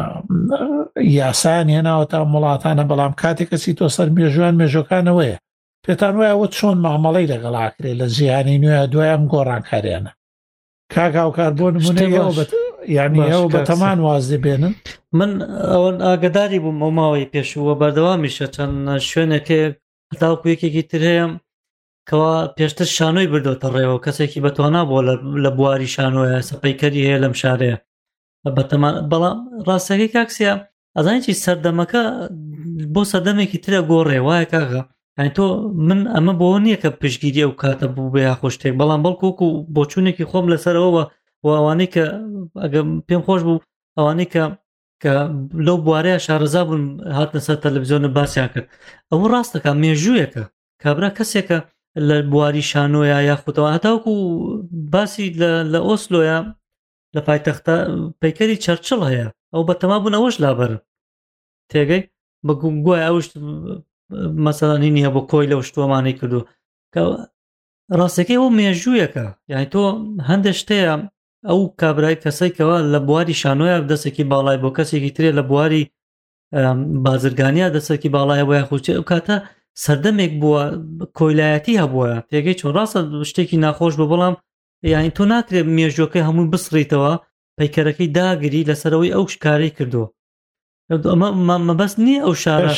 [SPEAKER 2] یاسایان هێناوەتە وڵاتانە بەڵام کاتێک کەسی تۆ سەر مێژوان مێژۆکانەوەیە پێتان وایە ئەوە چۆن مامەڵەی لەگەڵاکرێت لە جیهانی نوێ دوای ئەم گۆڕانکاریانە کاگااوکار بۆ نمونەیە یعنی ئەو بە تەمان واز دەبێنن
[SPEAKER 3] من ئەوە ئاگداری بووم ئەو ماوەی پێشووە بەردەوامیشە چەند شوێنێکێ هەتاوەکو یەکێکی تر هەیە کەوا پێشتر شانۆی بردۆتە ڕێەوە کەسێکی بەتوانا بۆ لە بواری شانۆیە سەپەیکەری هەیە لەم شارەیە بەتەمان بەڵام ڕاستەکەی کاکسیا ئەزانیی سەردەمەکە بۆ سەردەمێکی ترە گۆڕێ وایە کاغا یعنی تۆ من ئەمە بۆ نییە کە پشگیری ئەو کاتە بوو بە یاخۆ شتێک بەڵام بەڵکوکو بۆچوونێکی خۆم لەسەرەوە و ئەوانەی کە ئەگە پێم خۆش بوو ئەوانەی کە کە لەو بوارەیە شارەزا بوون هاتنە سەر تەلەڤیزیۆنە باسییان کرد ئەوە ڕاستەکە مێژوویەکە کابرا کەسێکە لە بواری شانۆیە یاخوتەوە هەتاوکو باسی لە ئۆسلۆیە لە پایتەختە پەیکەری چەرچڵ هەیە ئەو بەتەما بوون ئەوەش لابەر تێگەی بە گوای ئەوش مەسەڵانی نییە بۆ کۆی لەو شتوەمانەی کردو ڕاستەکەی ئەو مێژوویەکە یعنی تۆ هەندێک شتەیە ئەو کابرای کەسێکەوە لە بواری شانۆیە دەستێکی باڵای بۆ کەسێکی ترێ لە بواری بازرگانیە دەستێکی باڵایە بۆ یاخوچێ ئەو کاتە سەردەمێک بووە کۆیلایەتی هەبووە تێگەی چۆن ڕاستە شتێکی ناخۆش بە بەڵام یعنی تۆ ناکرێت مێژوەکەی هەمووی بسڕیتەوە پەیکەرەکەی داگری لەسەرەوەی ئەو شکارەی کردووە ئەمە مەبەست نییە ئەو شارە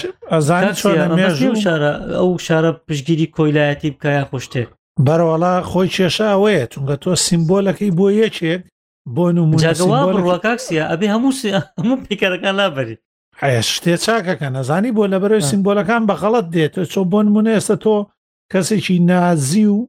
[SPEAKER 3] شارە ئەو شارە پشگیری کۆیلایەتی بکە یا خۆشتێک
[SPEAKER 2] بەرەوەڵا خۆی کێشە ئەوەیە چونکە تۆ سیمبۆلەکەی بۆ یەکێک بۆ
[SPEAKER 3] نمونەکاکسیە ئەبێ هەموو هەموو پێکەرەکان لابەری
[SPEAKER 2] حە شتێ چاکەکە نەزانی بۆ لەبەرەوەی سیمبۆلەکان بەغەڵەت دێت چۆ بۆ نمونە ئێستا تۆ کەسێکی نازی و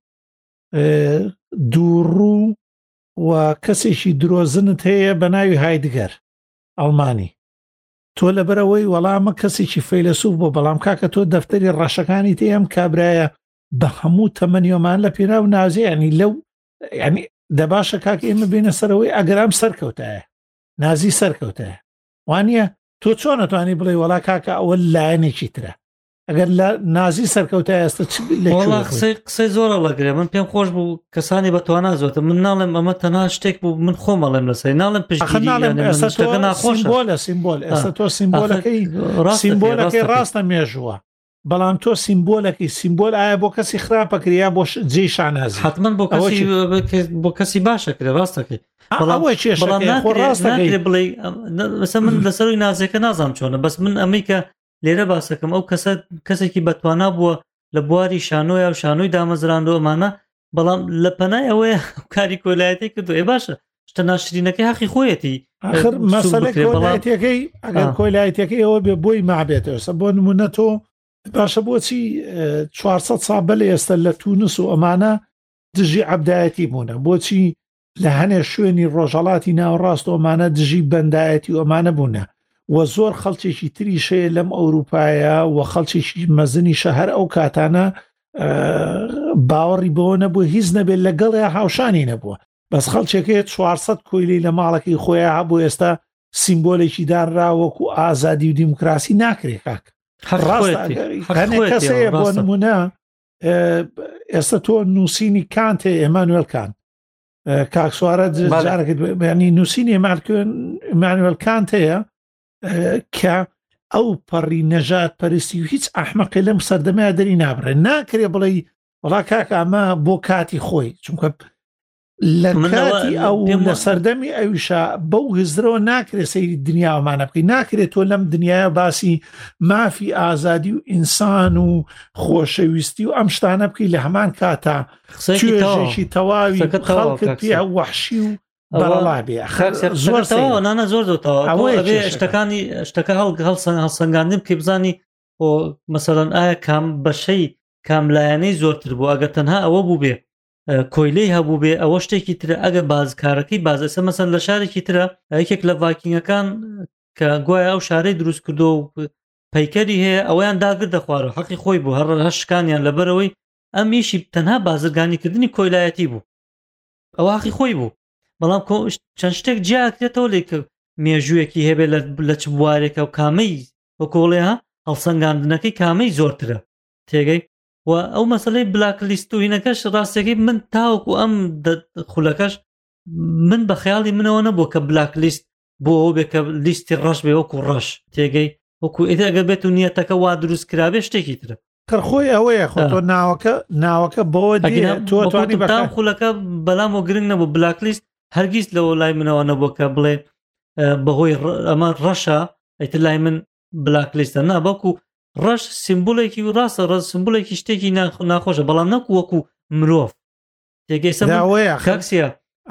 [SPEAKER 2] دووڕوو و کەسێکی درۆزنت هەیە بە ناوی هایدگەر ئەڵمانی تۆ لەبەرەوەی وەڵامە کەسێکی فەیلسوف بۆ بەڵام کاکە تۆ دەفتەری ڕەشەکانی تێ ئەم کابرایە بە هەموو تەمەنیۆمان لە پێنا و نازی ینی لەو ینی دەباشە کاکە ئێمە بینە سەرەوەی ئەگەرام سەرکەوتایە نازی سەرکەوتایە وانە تۆ چۆن نەتوانی بڵێ وەڵا کاکە ئەوە لایەنێکی ترە ئەگەر لە نازی سەرکەوتای ئێستا
[SPEAKER 3] قسەی زۆرە لەگرێ من پێم خۆش بوو کەسانی بەتوانە زۆتە من ناڵێم ئەمە تەنها شتێک بوو من خۆمەڵێم لەسەر ناڵم
[SPEAKER 2] پشتگیری ناخۆشە سیمبۆل ئێستا تۆ سیمبۆلەکەی سیمبۆلەکەی ڕاستە مێژووە بەڵام تۆ سیمبۆلەکەی سیمبۆل ئایا بۆ کەسی خراپەکریا بۆ جێی شانازی
[SPEAKER 3] حتمما بۆ کەسی بۆ کەسی باشەکرێ ڕاستەکەی
[SPEAKER 2] ڕاستەکەی
[SPEAKER 3] بڵێ بەسە من لەسەروی نازەکە نازام چۆنە بەس من ئەمەی کە لێرە باسەکەم ئەو کەسە کەسێکی بەتوانا بووە لە بواری شانۆیە و شانۆی دامەزراندۆ ئەمانە بەڵام لە پەنای ئەوەیە کاری کۆلایەتی کردو ئێ باشە شتە ناشرینەکەی حەقی خۆیەتی
[SPEAKER 2] آخر مەسەلەی کۆلایەتەکەی ئەگەر کۆلایەتەکەی ئەوە بێ بۆی مابێتەوە بۆ نمونە تۆ باشە بۆچی چوارسەد ساڵ بەلێ ئێستا لە تونس و ئەمانە دژی عەبدایەتی بوونە بۆچی لە هەنێ شوێنی ڕۆژهەڵاتی ناوەڕاست و ئەمانە دژی بەندایەتی و ئەمانە بوونە و زۆر خەڵکێکی تریشەیە لەم ئەوروپایە و خەڵکێکی مەزنی شەهر ئەو کاتانە باوەڕی بەوە نەبوو هیچ نەبێت لەگەڵ هاوشانی نەبووە بەس خەڵکێکەیە چوارسەد کۆیلی لە ماڵەکەی خۆیان هەبوو ئێستا سیمبۆلێکی دانرا وەکو ئازادی و دیموکراسی ناکرێت کاک کەسەیە بۆ نمونە ئێستا تۆ نووسینی کانتێ ئێمانوێل کانت کاک سوارە جارێکت ینی نووسینی ئێمانوێل کانتەیە کە ئەو پەڕی نەژات پەرستی و هیچ ئەحمەقی لەم سەردەمەیە دەری نابڕێ ناکرێ بڵێ وڵا کاک ئەمە بۆ کاتی خۆی چونکە لە کاتی ئەو لە سەردەمی ئەویشە بەو هزرەوە ناکرێت سەیری دنیاوەمانە بکەی ناکرێت تۆ لەم دنیاە باسی مافی ئازادی و ئینسان و خۆشەویستی و ئەم شتانە بکەی لە هەمان کاتە توێژێکی تەواوی خەڵکت پێ وەحشی و بەڵا بێ
[SPEAKER 3] زۆر نانە زۆر دۆتەوە شتەکانی شتەکە هەڵسەنگاندن بکەی بزانی بۆ مەسەڵەن ئایا کام بەشەی کاملایەنەی زۆرتر بوو ئەگەر تەنها ئەوە بوو بێ کۆیلەی هەبوو بێ ئەوە شتێکی ترە ئەگە بازکارەکەی بازەسە مەسەن لە شارێکی ترە یەکێک لە ڤایکینگەکان کە گوایە ئەو شارەی دروست کردو و پەیکەری هەیە ئەویان داگر دەخوارە حەقی خۆی بوو هەر هەشکانیان لەبەرەوەی ئەمیشی تەنها بازرگانیکردنی کۆیلایەتی بوو ئەوە حەقی خۆی بوو بەڵام چەند شتێک جیاکرێتەوە لێ کە مێژوویەکی هەبێت لە چ بوارێکە و کامەی وەکۆڵێها هەڵسەنگاندنەکەی کامەی زۆرترە تێگەی و ئەو مەسەلەی بلاک لیست و هینەکەش ڕاستەکەی من تاوەکو ئەم خولەکەش من بە خەیاڵی منەوە نەبوو کە بلاک لیست بۆ ئەو بێ کە لیستی ڕەش بێ وەکو ڕەش تێگەی وەکو ئێتە ئەگە بێت و نیەتەکە وا دروست کرابێ شتێکی ترە
[SPEAKER 2] کڕخۆی ئەوەیە خۆ تۆ ناوەکە ناوەکە بەوە توانی
[SPEAKER 3] بەتام خولەکە بەلام و گرنگ نەبوو بلاک لیست هەرگیز لەوە لای منەوە نەبوو کە بڵێ بەهۆی ئەمە ڕەشە ئەیتر لای من بلاک لیستە نابەکو ڕەش سیمبولێکی و ڕاستە ڕەش سیمبولێکی شتێکی ناخۆشە بەڵام نەکو وەکو مرۆڤ تێگەیسەوەیە کاکسیە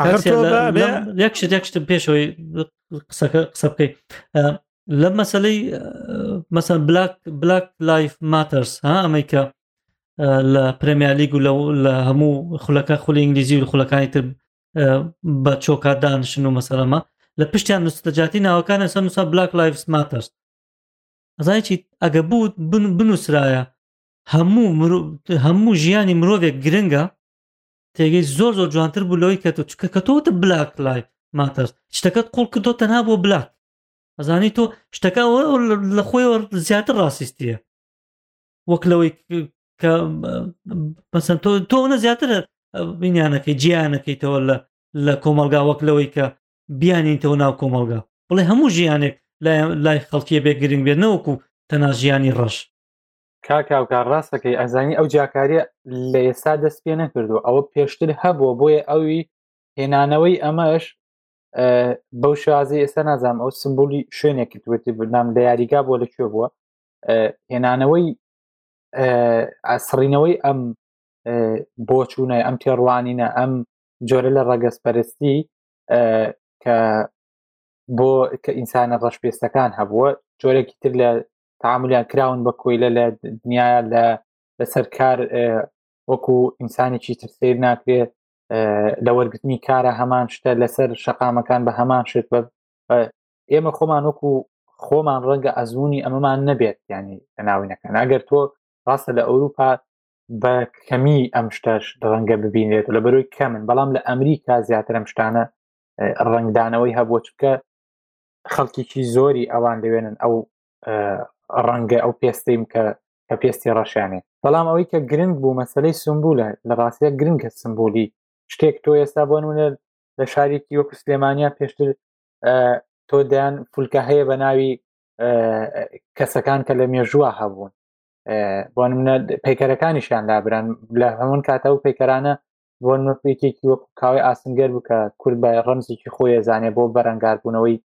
[SPEAKER 3] یەکشت یەکشتم پێشەوەی قسەکە قسە بکەی لە مەسەلەی مەسەن بلاک بلاک لایف ماترز ها ئەمەیکە لە پرێمیر لیگ و لە هەموو خولەکە خولی ئینگلیزی و خولەکانی تر بە چۆکار دانشن و مەسەلەمە لە پشتیان نووسەجاتی ناوەکانە سەر نووسا بلاک لایفز ماترز ئەزانیی ئەگە بوو بنووسرایە هەموو هەموو ژیانی مرۆڤێک گرنگە تێگەی زۆر زۆر جوانتر بوو لەوەی کە تۆ چکە کە تۆتە بلاک لایف ماترز شتەکەت قوڵ کردۆ تەنها بۆ بلاک ئەزانی تۆ شتەکە لە خۆیەوە زیاتر ڕاستیستیە وەک لەوەی کە مەسەن تۆ تۆ زیاتر بینیانەکەی جیانەکەیتەوە لە کۆمەلگا وەک لەوەی کە بیانینتەوە ناو کۆمەلگا بڵێ هەموو ژیانێک لای خەڵکیە بێ گرنگ بێت نەوەکو تەنها ژیانی ڕەش
[SPEAKER 1] کاکاوکار ڕاستەکەی ئەزانی ئەو جاکاریە لە ئێستا دەست پێ نەکردو ئەوە پێشتر هەبووە بۆیە ئەوی هێنانەوەی ئەمەش بەو شازی ئێستا نازانم ئەو سمبولی شوێنێکی توێتی بنام لە یاریگا بۆ لەکوێ بووە هێنانەوەی ئاسڕینەوەی ئەم بۆچوونە ئەم تێڕوانینە ئەم جۆرە لە ڕەگەزپەرستی کە بۆ کە ئینسانە ڕەشپێستەکان هەبووە جۆرێکی تر لە تعاملیان کراون بە کۆیلە لە دنیاە لە لەسەر کار وەکو ئینسانێکی تر سیر ناکرێت لە وەرگرتنی کارە هەمان شتە لەسەر شەقامەکان بە هەمان شت بە ئێمە خۆمان وەکو خۆمان ڕەنگە ئەزمموی ئەمەمان نەبێت ینی لەناوینەکان ئەگەر تۆ ڕاستە لە ئەوروپا بە کەمی ئەم شتەش ڕەنگە ببینێت لە بەرۆی کەمن بەڵام لە ئەمریکا زیاتر ئەم شتانە ڕنگدانەوەی هەبووە چکە خەڵکیی زۆری ئەوان لەوێنن ئەو ڕەنگە ئەو پێستیم کە کە پێستی ڕەشیانێ بەڵام ئەوەی کە گرنگ بوو مەسلەی سمبولە لە ڕاستیە گرنگە سمبولی شتێک تۆ ئێستا بۆ نمونە لە شارێکی وەکو سلێمانیا پێشتر تۆ دەیان فولکە هەیە بە ناوی کەسەکان کە لە مێژووە هەبوون بۆ نمونە پەیکەرەکانیشیان لابران لە هەمون کاتە و پەیکەرانە بۆ نمونەپێکێکی وەکو کاوی ئاسنگەر بوو کە کورد بە ڕەمزێکی خۆی زانێ بۆ بەرەنگاربوونەوەی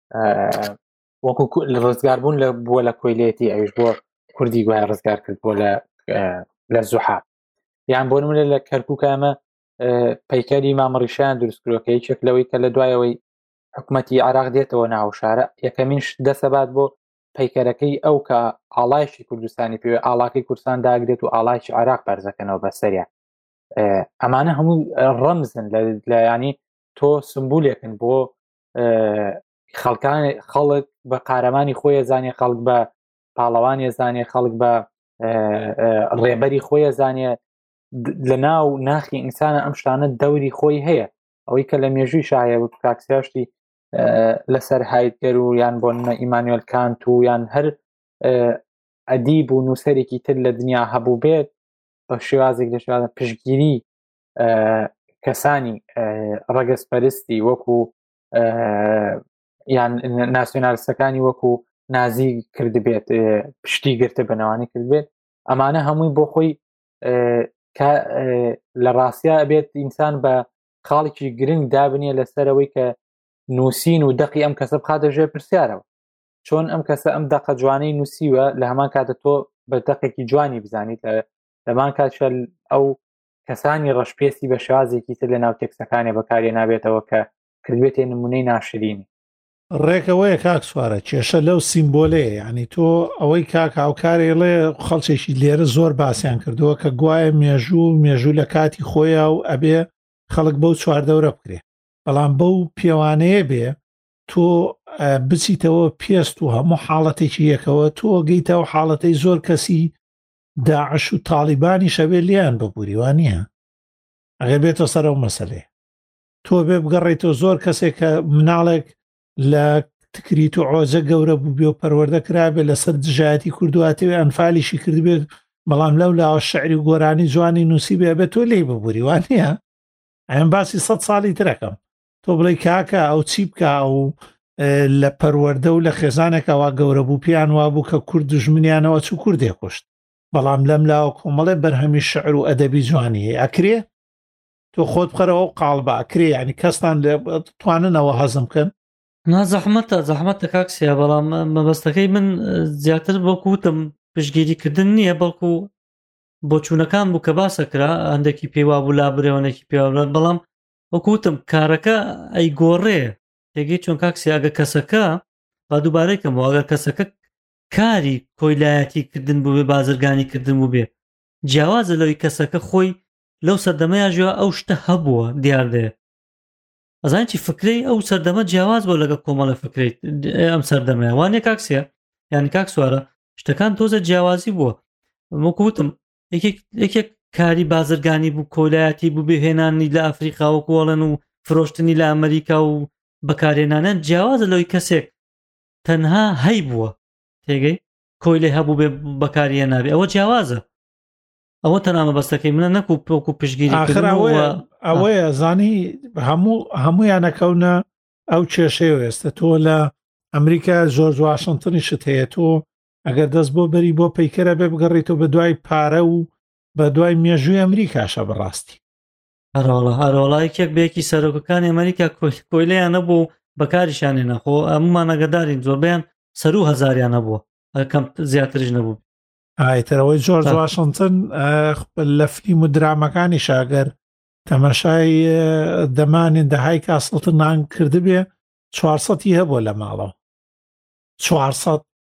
[SPEAKER 1] وەکو ڕزگاربوون لە بووە لە کۆیلێتی ئەوش بۆ کوردی گوای ڕزگار کرد بۆ لە لە زوحا یان بۆ نمونە لە کەرکووکە ئەمە پەیکەری مامەڕیشیان دروستکرۆ کە یەکێک لەوەی کە لە دوایەوەی حکوومەتی عێراق دێتەوە ناو شارە یەکەمین دەسەبات بۆ پەیکەرەکەی ئەو کە ئاڵایشی کوردستانی پێوێ ئاڵاکەی کوردستان داگرێت و ئاڵایشی عێراق بەرزەکەنەوە بەسەریان ئەمانە هەموو ڕەمزن لە ینی تۆ سمبولێکن بۆ خەڵکان خەڵک بە قارەمانی خۆی زانێ خەڵک بە پاڵەوانی زانێ خەڵک بە ڕێبەری خۆی زانێ لە ناو ناخی ئینسانە ئەم شتانە دەوری خۆی هەیە ئەوەی کە لە مێژووی شایە و کاکسیاشتی لەسەر هایدگەر و یان بۆ نمە ئیمانوێل کانت و یان هەر ئەدیب و نووسەرێکی تر لە دنیا هەبوو بێت بە شێوازێک لە شێوازە پشتگیری کەسانی ڕەگەزپەرستی وەکو یان ناسیۆنالیستەکانی وەکو نازی کرد بێت پشتی گرتە بەنەوانی کرد بێت ئەمانە هەمووی بۆ خۆی لە ڕاستیا بێت ئینسان بە خاڵێکی گرنگ دابنیە لەسەرەوەی کە نووسین و دەقی ئەم کەسە بخاتە ژێر پرسیارەوە چۆن ئەم کەسە ئەم دەقە جوانەی نووسیوە لە هەمان کاتە تۆ بە دەقێکی جوانی بزانیت لەمان کاتشە ئەو کەسانی ڕەشپێستی بە شێوازێکی تر لە ناو تێکسەکانی بەکارێ نابێتەوە کە کردوێتێ نمونەی ناشرینی
[SPEAKER 2] ڕێکەوەیە کاک سوارە کێشە لەو سیمبۆلەیە یعنی تۆ ئەوەی کاک هاوکارێڵێ خەڵکێکی لێرە زۆر باسییان کردووە کە گوایە مێژوو مێژوو لە کاتی خۆیە و ئەبێ خەڵک بەو چواردەورە بکرێ بەڵام بەو پێوانەیە بێ تۆ بچیتەوە پێست و هەموو حاڵەتێکی یەکەوە تۆ گەیتەوە حاڵەتەی زۆر کەسی داعش و تاڵیبانی شەوێ لیان ببووری وان نییە ئەگەر بێتە سەر ئەو مەسەلێ تۆ بێ بگەڕێتەوە زۆر کەسێک کە مناڵێک لە تکریت و عۆزە گەورە بوو بێ و پەروەردە کرابێ لەسەر دژایەتی کوردواتەوێ ئەنفالیشی کردبێت بەڵام لەو لاوە شعری و گۆرانی جوانی نووسی بێ بێت تۆ لێی ببووری وان نییە ئەم باسی سەد ساڵی ترەکەم تۆ بڵێ کاکە ئەو چی بکە و لە پەروەردە و لە خێزانێکەوە گەورە بوو پیان وا بوو کە کورد دژمنیانەوە چ کوردێ کوشت بەڵام لەم لاوە کۆمەڵێ بەرهەمی شعر و ئەدەبی جوانی ئەکرێ تۆ خۆت بخەرەوە و قاڵبە ئەکرێ ینی کەستان تواننەوە هەزم بکەن
[SPEAKER 3] نا زەحمەتە زەحمەتە کاکسیا بەڵام مەبەستەکەی من زیاتر بۆکوتم پشتگیریکردن نییە بەڵکو بۆچوونەکان بوو کە باسەکرا هەندێکی پێوا بوو لا برێوەنێکی پێوە بەڵام وەکوتم کارەکە ئەی گۆڕێ تێگەی چۆن کاکسیاگە کەسەکە با دووبارەیکەمەوە ئەگەر کەسەکە کاری کۆیلایەتی کردن بوو بێ بازرگانی کردن بوو بێ جیاوازە لەوەی کەسەکە خۆی لەو سەردەمەیە ژێوە ئەو شتە هەبووە دیاردەیە ئەزان چی فکرەی ئەو سەردەمە جیاواز بۆ لەگە کۆمەڵە فکرەی ئەم سەردەمەیە وانێ کاکسیە یانی کاک سوارە شتەکان تۆزە جیاوازی بووە وەکوتم یەکێک کاری بازرگانی بوو کۆلایەتی بوو بهێنانی لە ئەفریقا و کۆڵن و فرۆشتنی لە ئەمریکا و بەکارێنانە جیاوازە لەوەی کەسێک تەنها هەی بووە تێگەی کۆی لێ هەبوو بێ بەکاریە نابێ ئەوە جیاوازە ئەوە تەنامە بەستەکەی منە نەکو پۆک و پشگیری
[SPEAKER 2] ئەوەیە زانی هەموو هەمویانەکەونە ئەو کێشەیە ئێستا تۆ لە ئەمریکا زۆر واشنگتنی شت هەیە تۆ ئەگەر دەست بۆ بەری بۆ پەیکەرە بێ بگەڕێتەوە بە دوای پارە و بە دوای مێژووی ئەمریکاشە بەڕاستی
[SPEAKER 3] هەرۆڵە هەرۆڵایەکێک بێکی سەرۆکەکانی ئەمریکا کۆیلەیان نەبوو بەکاریشانێ نەخۆ ئەمومان ئەگەدارین زۆربیان سەر و هەزاریان نەبووە ئەکەم زیاتریش نەبوو
[SPEAKER 2] ئایترەوەی جۆرج واشنگتن لە فیلم و درامەکانی شاگەر تەمەشای دەمانین دەهای کاسڵتنان کردبێ چوارسەدی هەبووە لە ماڵەوە چوارسەد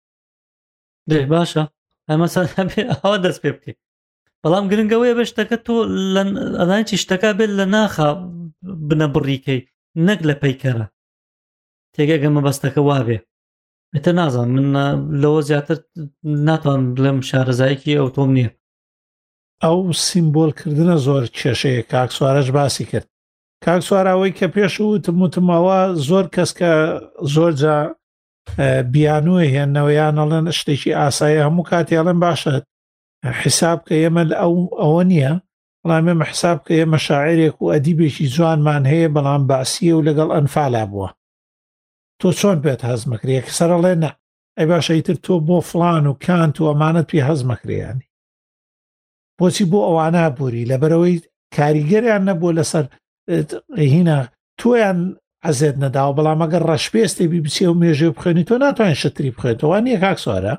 [SPEAKER 3] دێ باشە ئەمە ئەوە دەست پێ بکەیت بەڵام گرنگەوەیە بە شتەکە تۆ ئەدانچی شتەکە بێت لە ناخە بنە بڕیکەی نەک لە پەیکەرە تێگەگە مەبەستەکە وابێ ئێتە نازان من لەوە زیاتر ناتوان بڵێم شارەزایەکی ئەو تۆم نییە
[SPEAKER 2] ئەو سیمبۆلکردنە زۆر کێشەیە کاکسوارەش باسی کرد کاکسوارەوەی کە پێش وتم وتمەوە زۆر کەس کە زۆر جا بیانوە هێنەوەیان ئەڵێن شتێکی ئاسایە هەموو کاتیاڵێن باشە حساب کە ئێمە ئەو ئەوە نییە بەڵام ئێمە حساب کە ئێمە شاعرێک و ئەدیبێکی جوانمان هەیە بەڵام باسیە و لەگەڵ ئەنفالا بووە تۆ چۆن پێت هەزمەکرێ سەرڵێ نە ئەی باشە ئیتر تۆ بۆ فڵان و کانت و ئەمانەت پێ هەزمەکرێیانی بۆچی بۆ ئەوانە بووری لەبەرەوەی کاریگەریان نەبووە لەسەر هینە تۆیان ئەزێت نەداوە بەڵام ئەگەر ڕەشپێستی بی بچێ و مێژێ بخێنی تۆ ناتوانین شتری بخێتەوە نییە کاک سوارە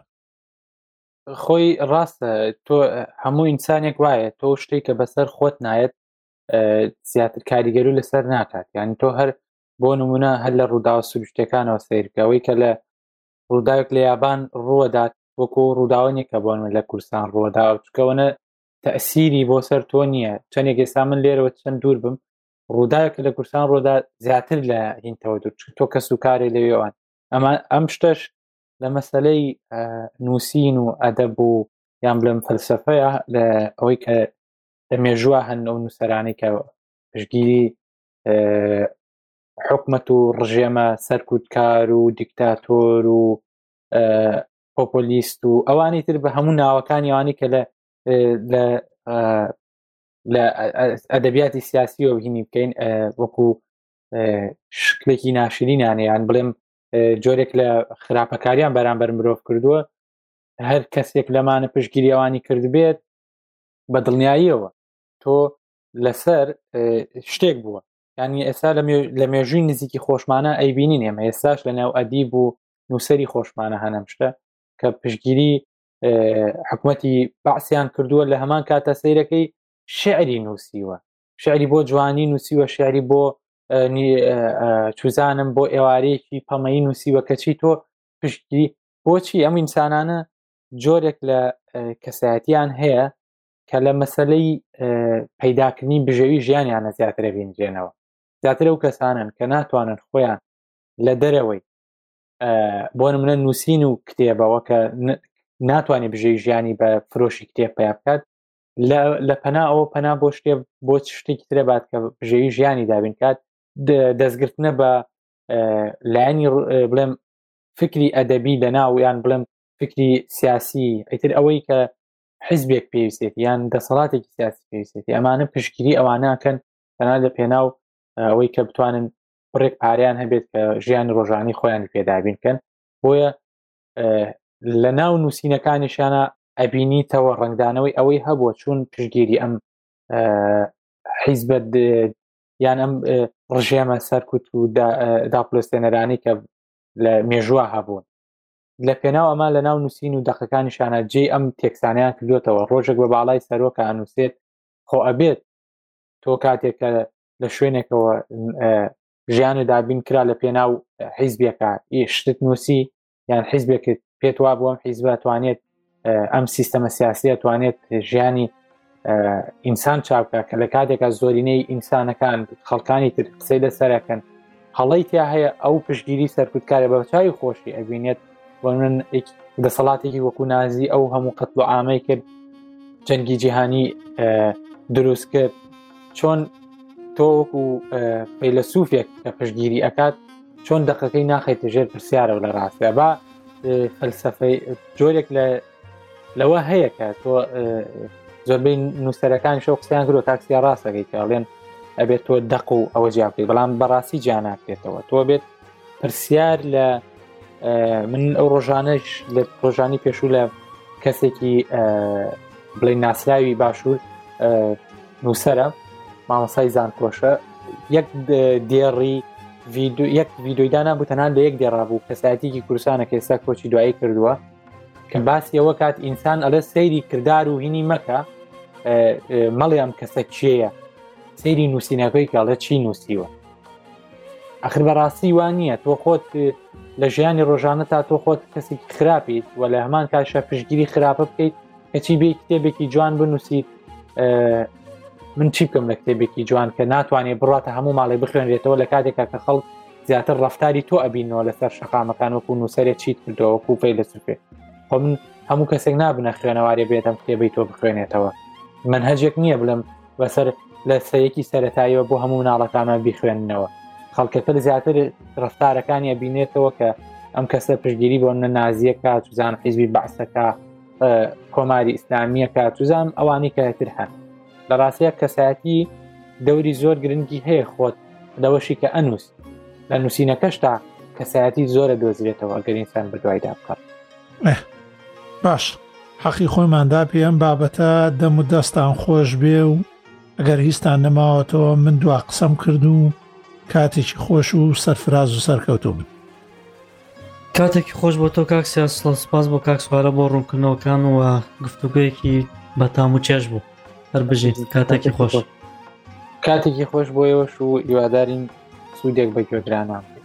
[SPEAKER 1] خۆی ڕاستە تۆ هەموو ئینسانێک وایە تۆ شتێک کە بەسەر خۆت نایەت زیاتر کاریگەری و لەسەر ناکات. یعنی تۆ هەر بۆ نمونە هەر لە ڕووداوە سروشتەکانەوە سیرکەوەی کە لە ڕووداوێک لە یابان ڕووەدات وەکو ڕووداوەنێکە بۆن لە کوردستان ڕووەدا چکەوەنە تەسیری بۆ سەر تۆ نییە. چەندێک ئێستا من لێرەوە چەند دوور بم ڕووداوێکە لە کوردستان ڕۆدا زیاتر لە هینتەوە دوور تۆ کەس و کارێ لەوێوان. ئەمە ئەم شتەش لە مەسەلەی نووسین و ئەدەب و یان بڵێم فەلسەفەیە لە ئەوەی کە دەمێژووە هەن ئەو نووسەرانی کە پشتگیری حکومەت و ڕژێمە سەرکوتکار و دیکتاتۆر و پۆپۆلیست و ئەوانی تر بە هەموو ناوەکانی ئەوانی کە لە لە ئەدەبیاتی سیاسی و هینی بکەین وەکو شکلێکی ناشرینیانە یان بڵێم جۆرێک لە خراپەکاریان بەرامبەر مرۆڤ کردووە. هەر کەسێک لەمانە پشتگیری ئەوانی کرد بێت بە دڵنیاییەوە تۆ لەسەر شتێک بووە. یعنی ئێستا لە مێژووی نزیکی خۆشمانە ئەیبینین ئێمە ئێستاش لە ناو ئەدیب و نووسەری خۆشمانە هەنەم شتە کە پشتگیری حکومەتی بەعسیان کردووە لە هەمان کاتە سەیرەکەی شعری نووسیوە، شعری بۆ جوانی نووسیوە، شعری بۆ چوزانم بۆ ئێوارەیەکی پەمەیی نووسیوە کەچی تۆ پشتگیری بۆچی ئەم ئینسانانە جۆرێک لە کەسایەتیان هەیە کە لە مەسەلەی پەیداکردنی بژێوی ژیانیانە زیاترە بینجێنەوە. زیاتر ئەو کەسانن کە ناتوانن خۆیان لە دەرەوەی بۆ نمونە نووسین و کتێبەوە کە ناتوانێت بژێوی ژیانی بە فرۆشی کتێب پیا بکات لە پەنا ئەوە پەنا بۆ شتێ بۆ شتێکی ترە بات کە بژێوی ژیانی دابین کات دەستگرتنە بە لایەنی بڵێم فکری ئەدەبی لەناو یان بڵێم فکری سیاسی ئەیتر ئەوەی کە حیزبێک پێویستێت یان دەسەڵاتێکی سیاسی پێویستێتی ئەمانە پشتگیری ئەوانەکەن تەنها لە پێناو ئەوەی کە بتوانن بڕێک پاریان هەبێت کە ژیانی ڕۆژانی خۆیانی پێدابینکەن. بۆیە لە ناو نووسینەکانیشانە ئەبینیتەوە ڕنگدانەوەی ئەوەی هەبووە چون پشتگیری ئەم حیزبە یان ئەم ڕژێمە سەرکوت و داپلۆستێنەرانی کە لە مێژووە هەبوون لە پێناو ئەمە لە ناو نووسین و دەقەکانیشانە جێ ئەم تێکسانیان کردوێتەوە. ڕۆژێک بە باڵای سەرۆکە ئەنووسێت خۆ ئەبێت تۆ کاتێکە لە شوێنێکەوە ژیانە دابین کرا لە پێناو حیزبێکە شتت نووسی یان حیزبێکت پێت وا بووەم حیزبە توانێت ئەم سیستەمە سیاسیە توانێت ژیانی ئینسان چاوکە کە لە کاتێکە زۆرینەی ئینسانەکان خەڵکانی تر قسەی لەسەرەکەن هەڵی تیا هەیە ئەو پشتگیری سەرکوتکارە بە چاوی خۆشی ئەبینێت بۆ من دەسەڵاتێکی وەکو نازی ئەو هەموو قەتڵ و ئامەی کرد جەنگی جیهانی دروست کرد چۆن تۆ وەکو فەیلسوفێک کە پشتگیری ئەکات چۆن دەقەکەی ناخێتە ژێر پرسیارەوە لە ڕاستە با فەلسەفەی جۆرێک لە لەوە هەیە کە تۆ زۆربەی نووسەرەکان شەو قسەیان کردو تاکسیا ڕاستەکەی کە ئەڵێن ئەبێت تۆ دەق و ئەوە جیابکەیت بەڵام بەڕاستی جیاناکرێتەوە تۆ بێت پرسیار لە من ئەو ڕۆژانەش لە ڕۆژانی پێشوو لە کەسێکی بڵێ ناسراوی باشوور نووسەرە مامەسای زانکۆشە یەک دێڕی یەک ڤیدۆیدانا بوو تەنان لە یەک دێڕا بوو کەسایەتێکی کوردستانە کە ئێستا کۆچی دوایی کردووە کە باسی ئەوە کات ئینسان ئەلە سەیری کردار و هینی مەکە مەڵیام کەسە چێیە سەیری نووسینەکەی کاڵە چی نووسیوە ئەخر بەڕاستی وان نییە تۆ خۆت لە ژیانی ڕۆژانە تا تۆ خۆت کەسێکی خراپیت و لە هەمان کاشە پشتگیری خراپە بکەیت کەچی بێ کتێبێکی جوان بنووسیت من چی بکەم لە کتێبێکی جوان کە ناتوانێت بڕاتە هەموو ماڵی بخوێنرێتەوە لە کاتێکا کە خەڵک زیاتر ڕەفتاری تۆ ئەبینەوە لەسەر شەقامەکان وەکو نووسەرێک چیت کردەوە وەکو فەیلسوفێ خۆ من هەموو کەسێک نابنە خوێنەوارێ بێتم کتێبەی تۆ بخوێنێتەوە منهەجێک نییە بڵم بەسەر لە سەیەکی سەرەتاییەوە بۆ هەموو ناڵەکانە بیخوێننەوە خەڵکەکە زیاتر ڕەفتارەکانی ئەبینێتەوە کە ئەم کەسە پشتگیری بۆ منە نازیەکە توزان حیزبی بەعسەکە کۆماری ئیسلامیەکە توزان ئەوانی کەتر هەن لە ڕاستیە کەسایەتی دەوری زۆر گرنگی هەیە خۆت لەوەشی کە ئەنووس لە نووسینەکەشتا کەسایەتی زۆرە دۆزرێتەوە ئەگەر ئینسان بەدوایدا بکات.
[SPEAKER 2] باش حەقی خۆیماندا پێ ئەم بابەتە دەم و دەستان خۆش بێ و ئەگەر هیچتان نەماوەتەوە من دوا قسەم کرد و کاتێکی خۆش و سەرفراز و سەرکەوتۆ بن.
[SPEAKER 3] کاتێکی خۆش بۆ تۆ کاک سیاسڵ سپاس بۆ کاک سوارە بۆ ڕوونکردنەوەکان و گفتوگویەکی بەتام و چێش بوو هەر بژین کاتێکی خۆش
[SPEAKER 1] کاتێکی خۆش بۆیەوەش و هیوادارین سوودێک بە گوێگرانان.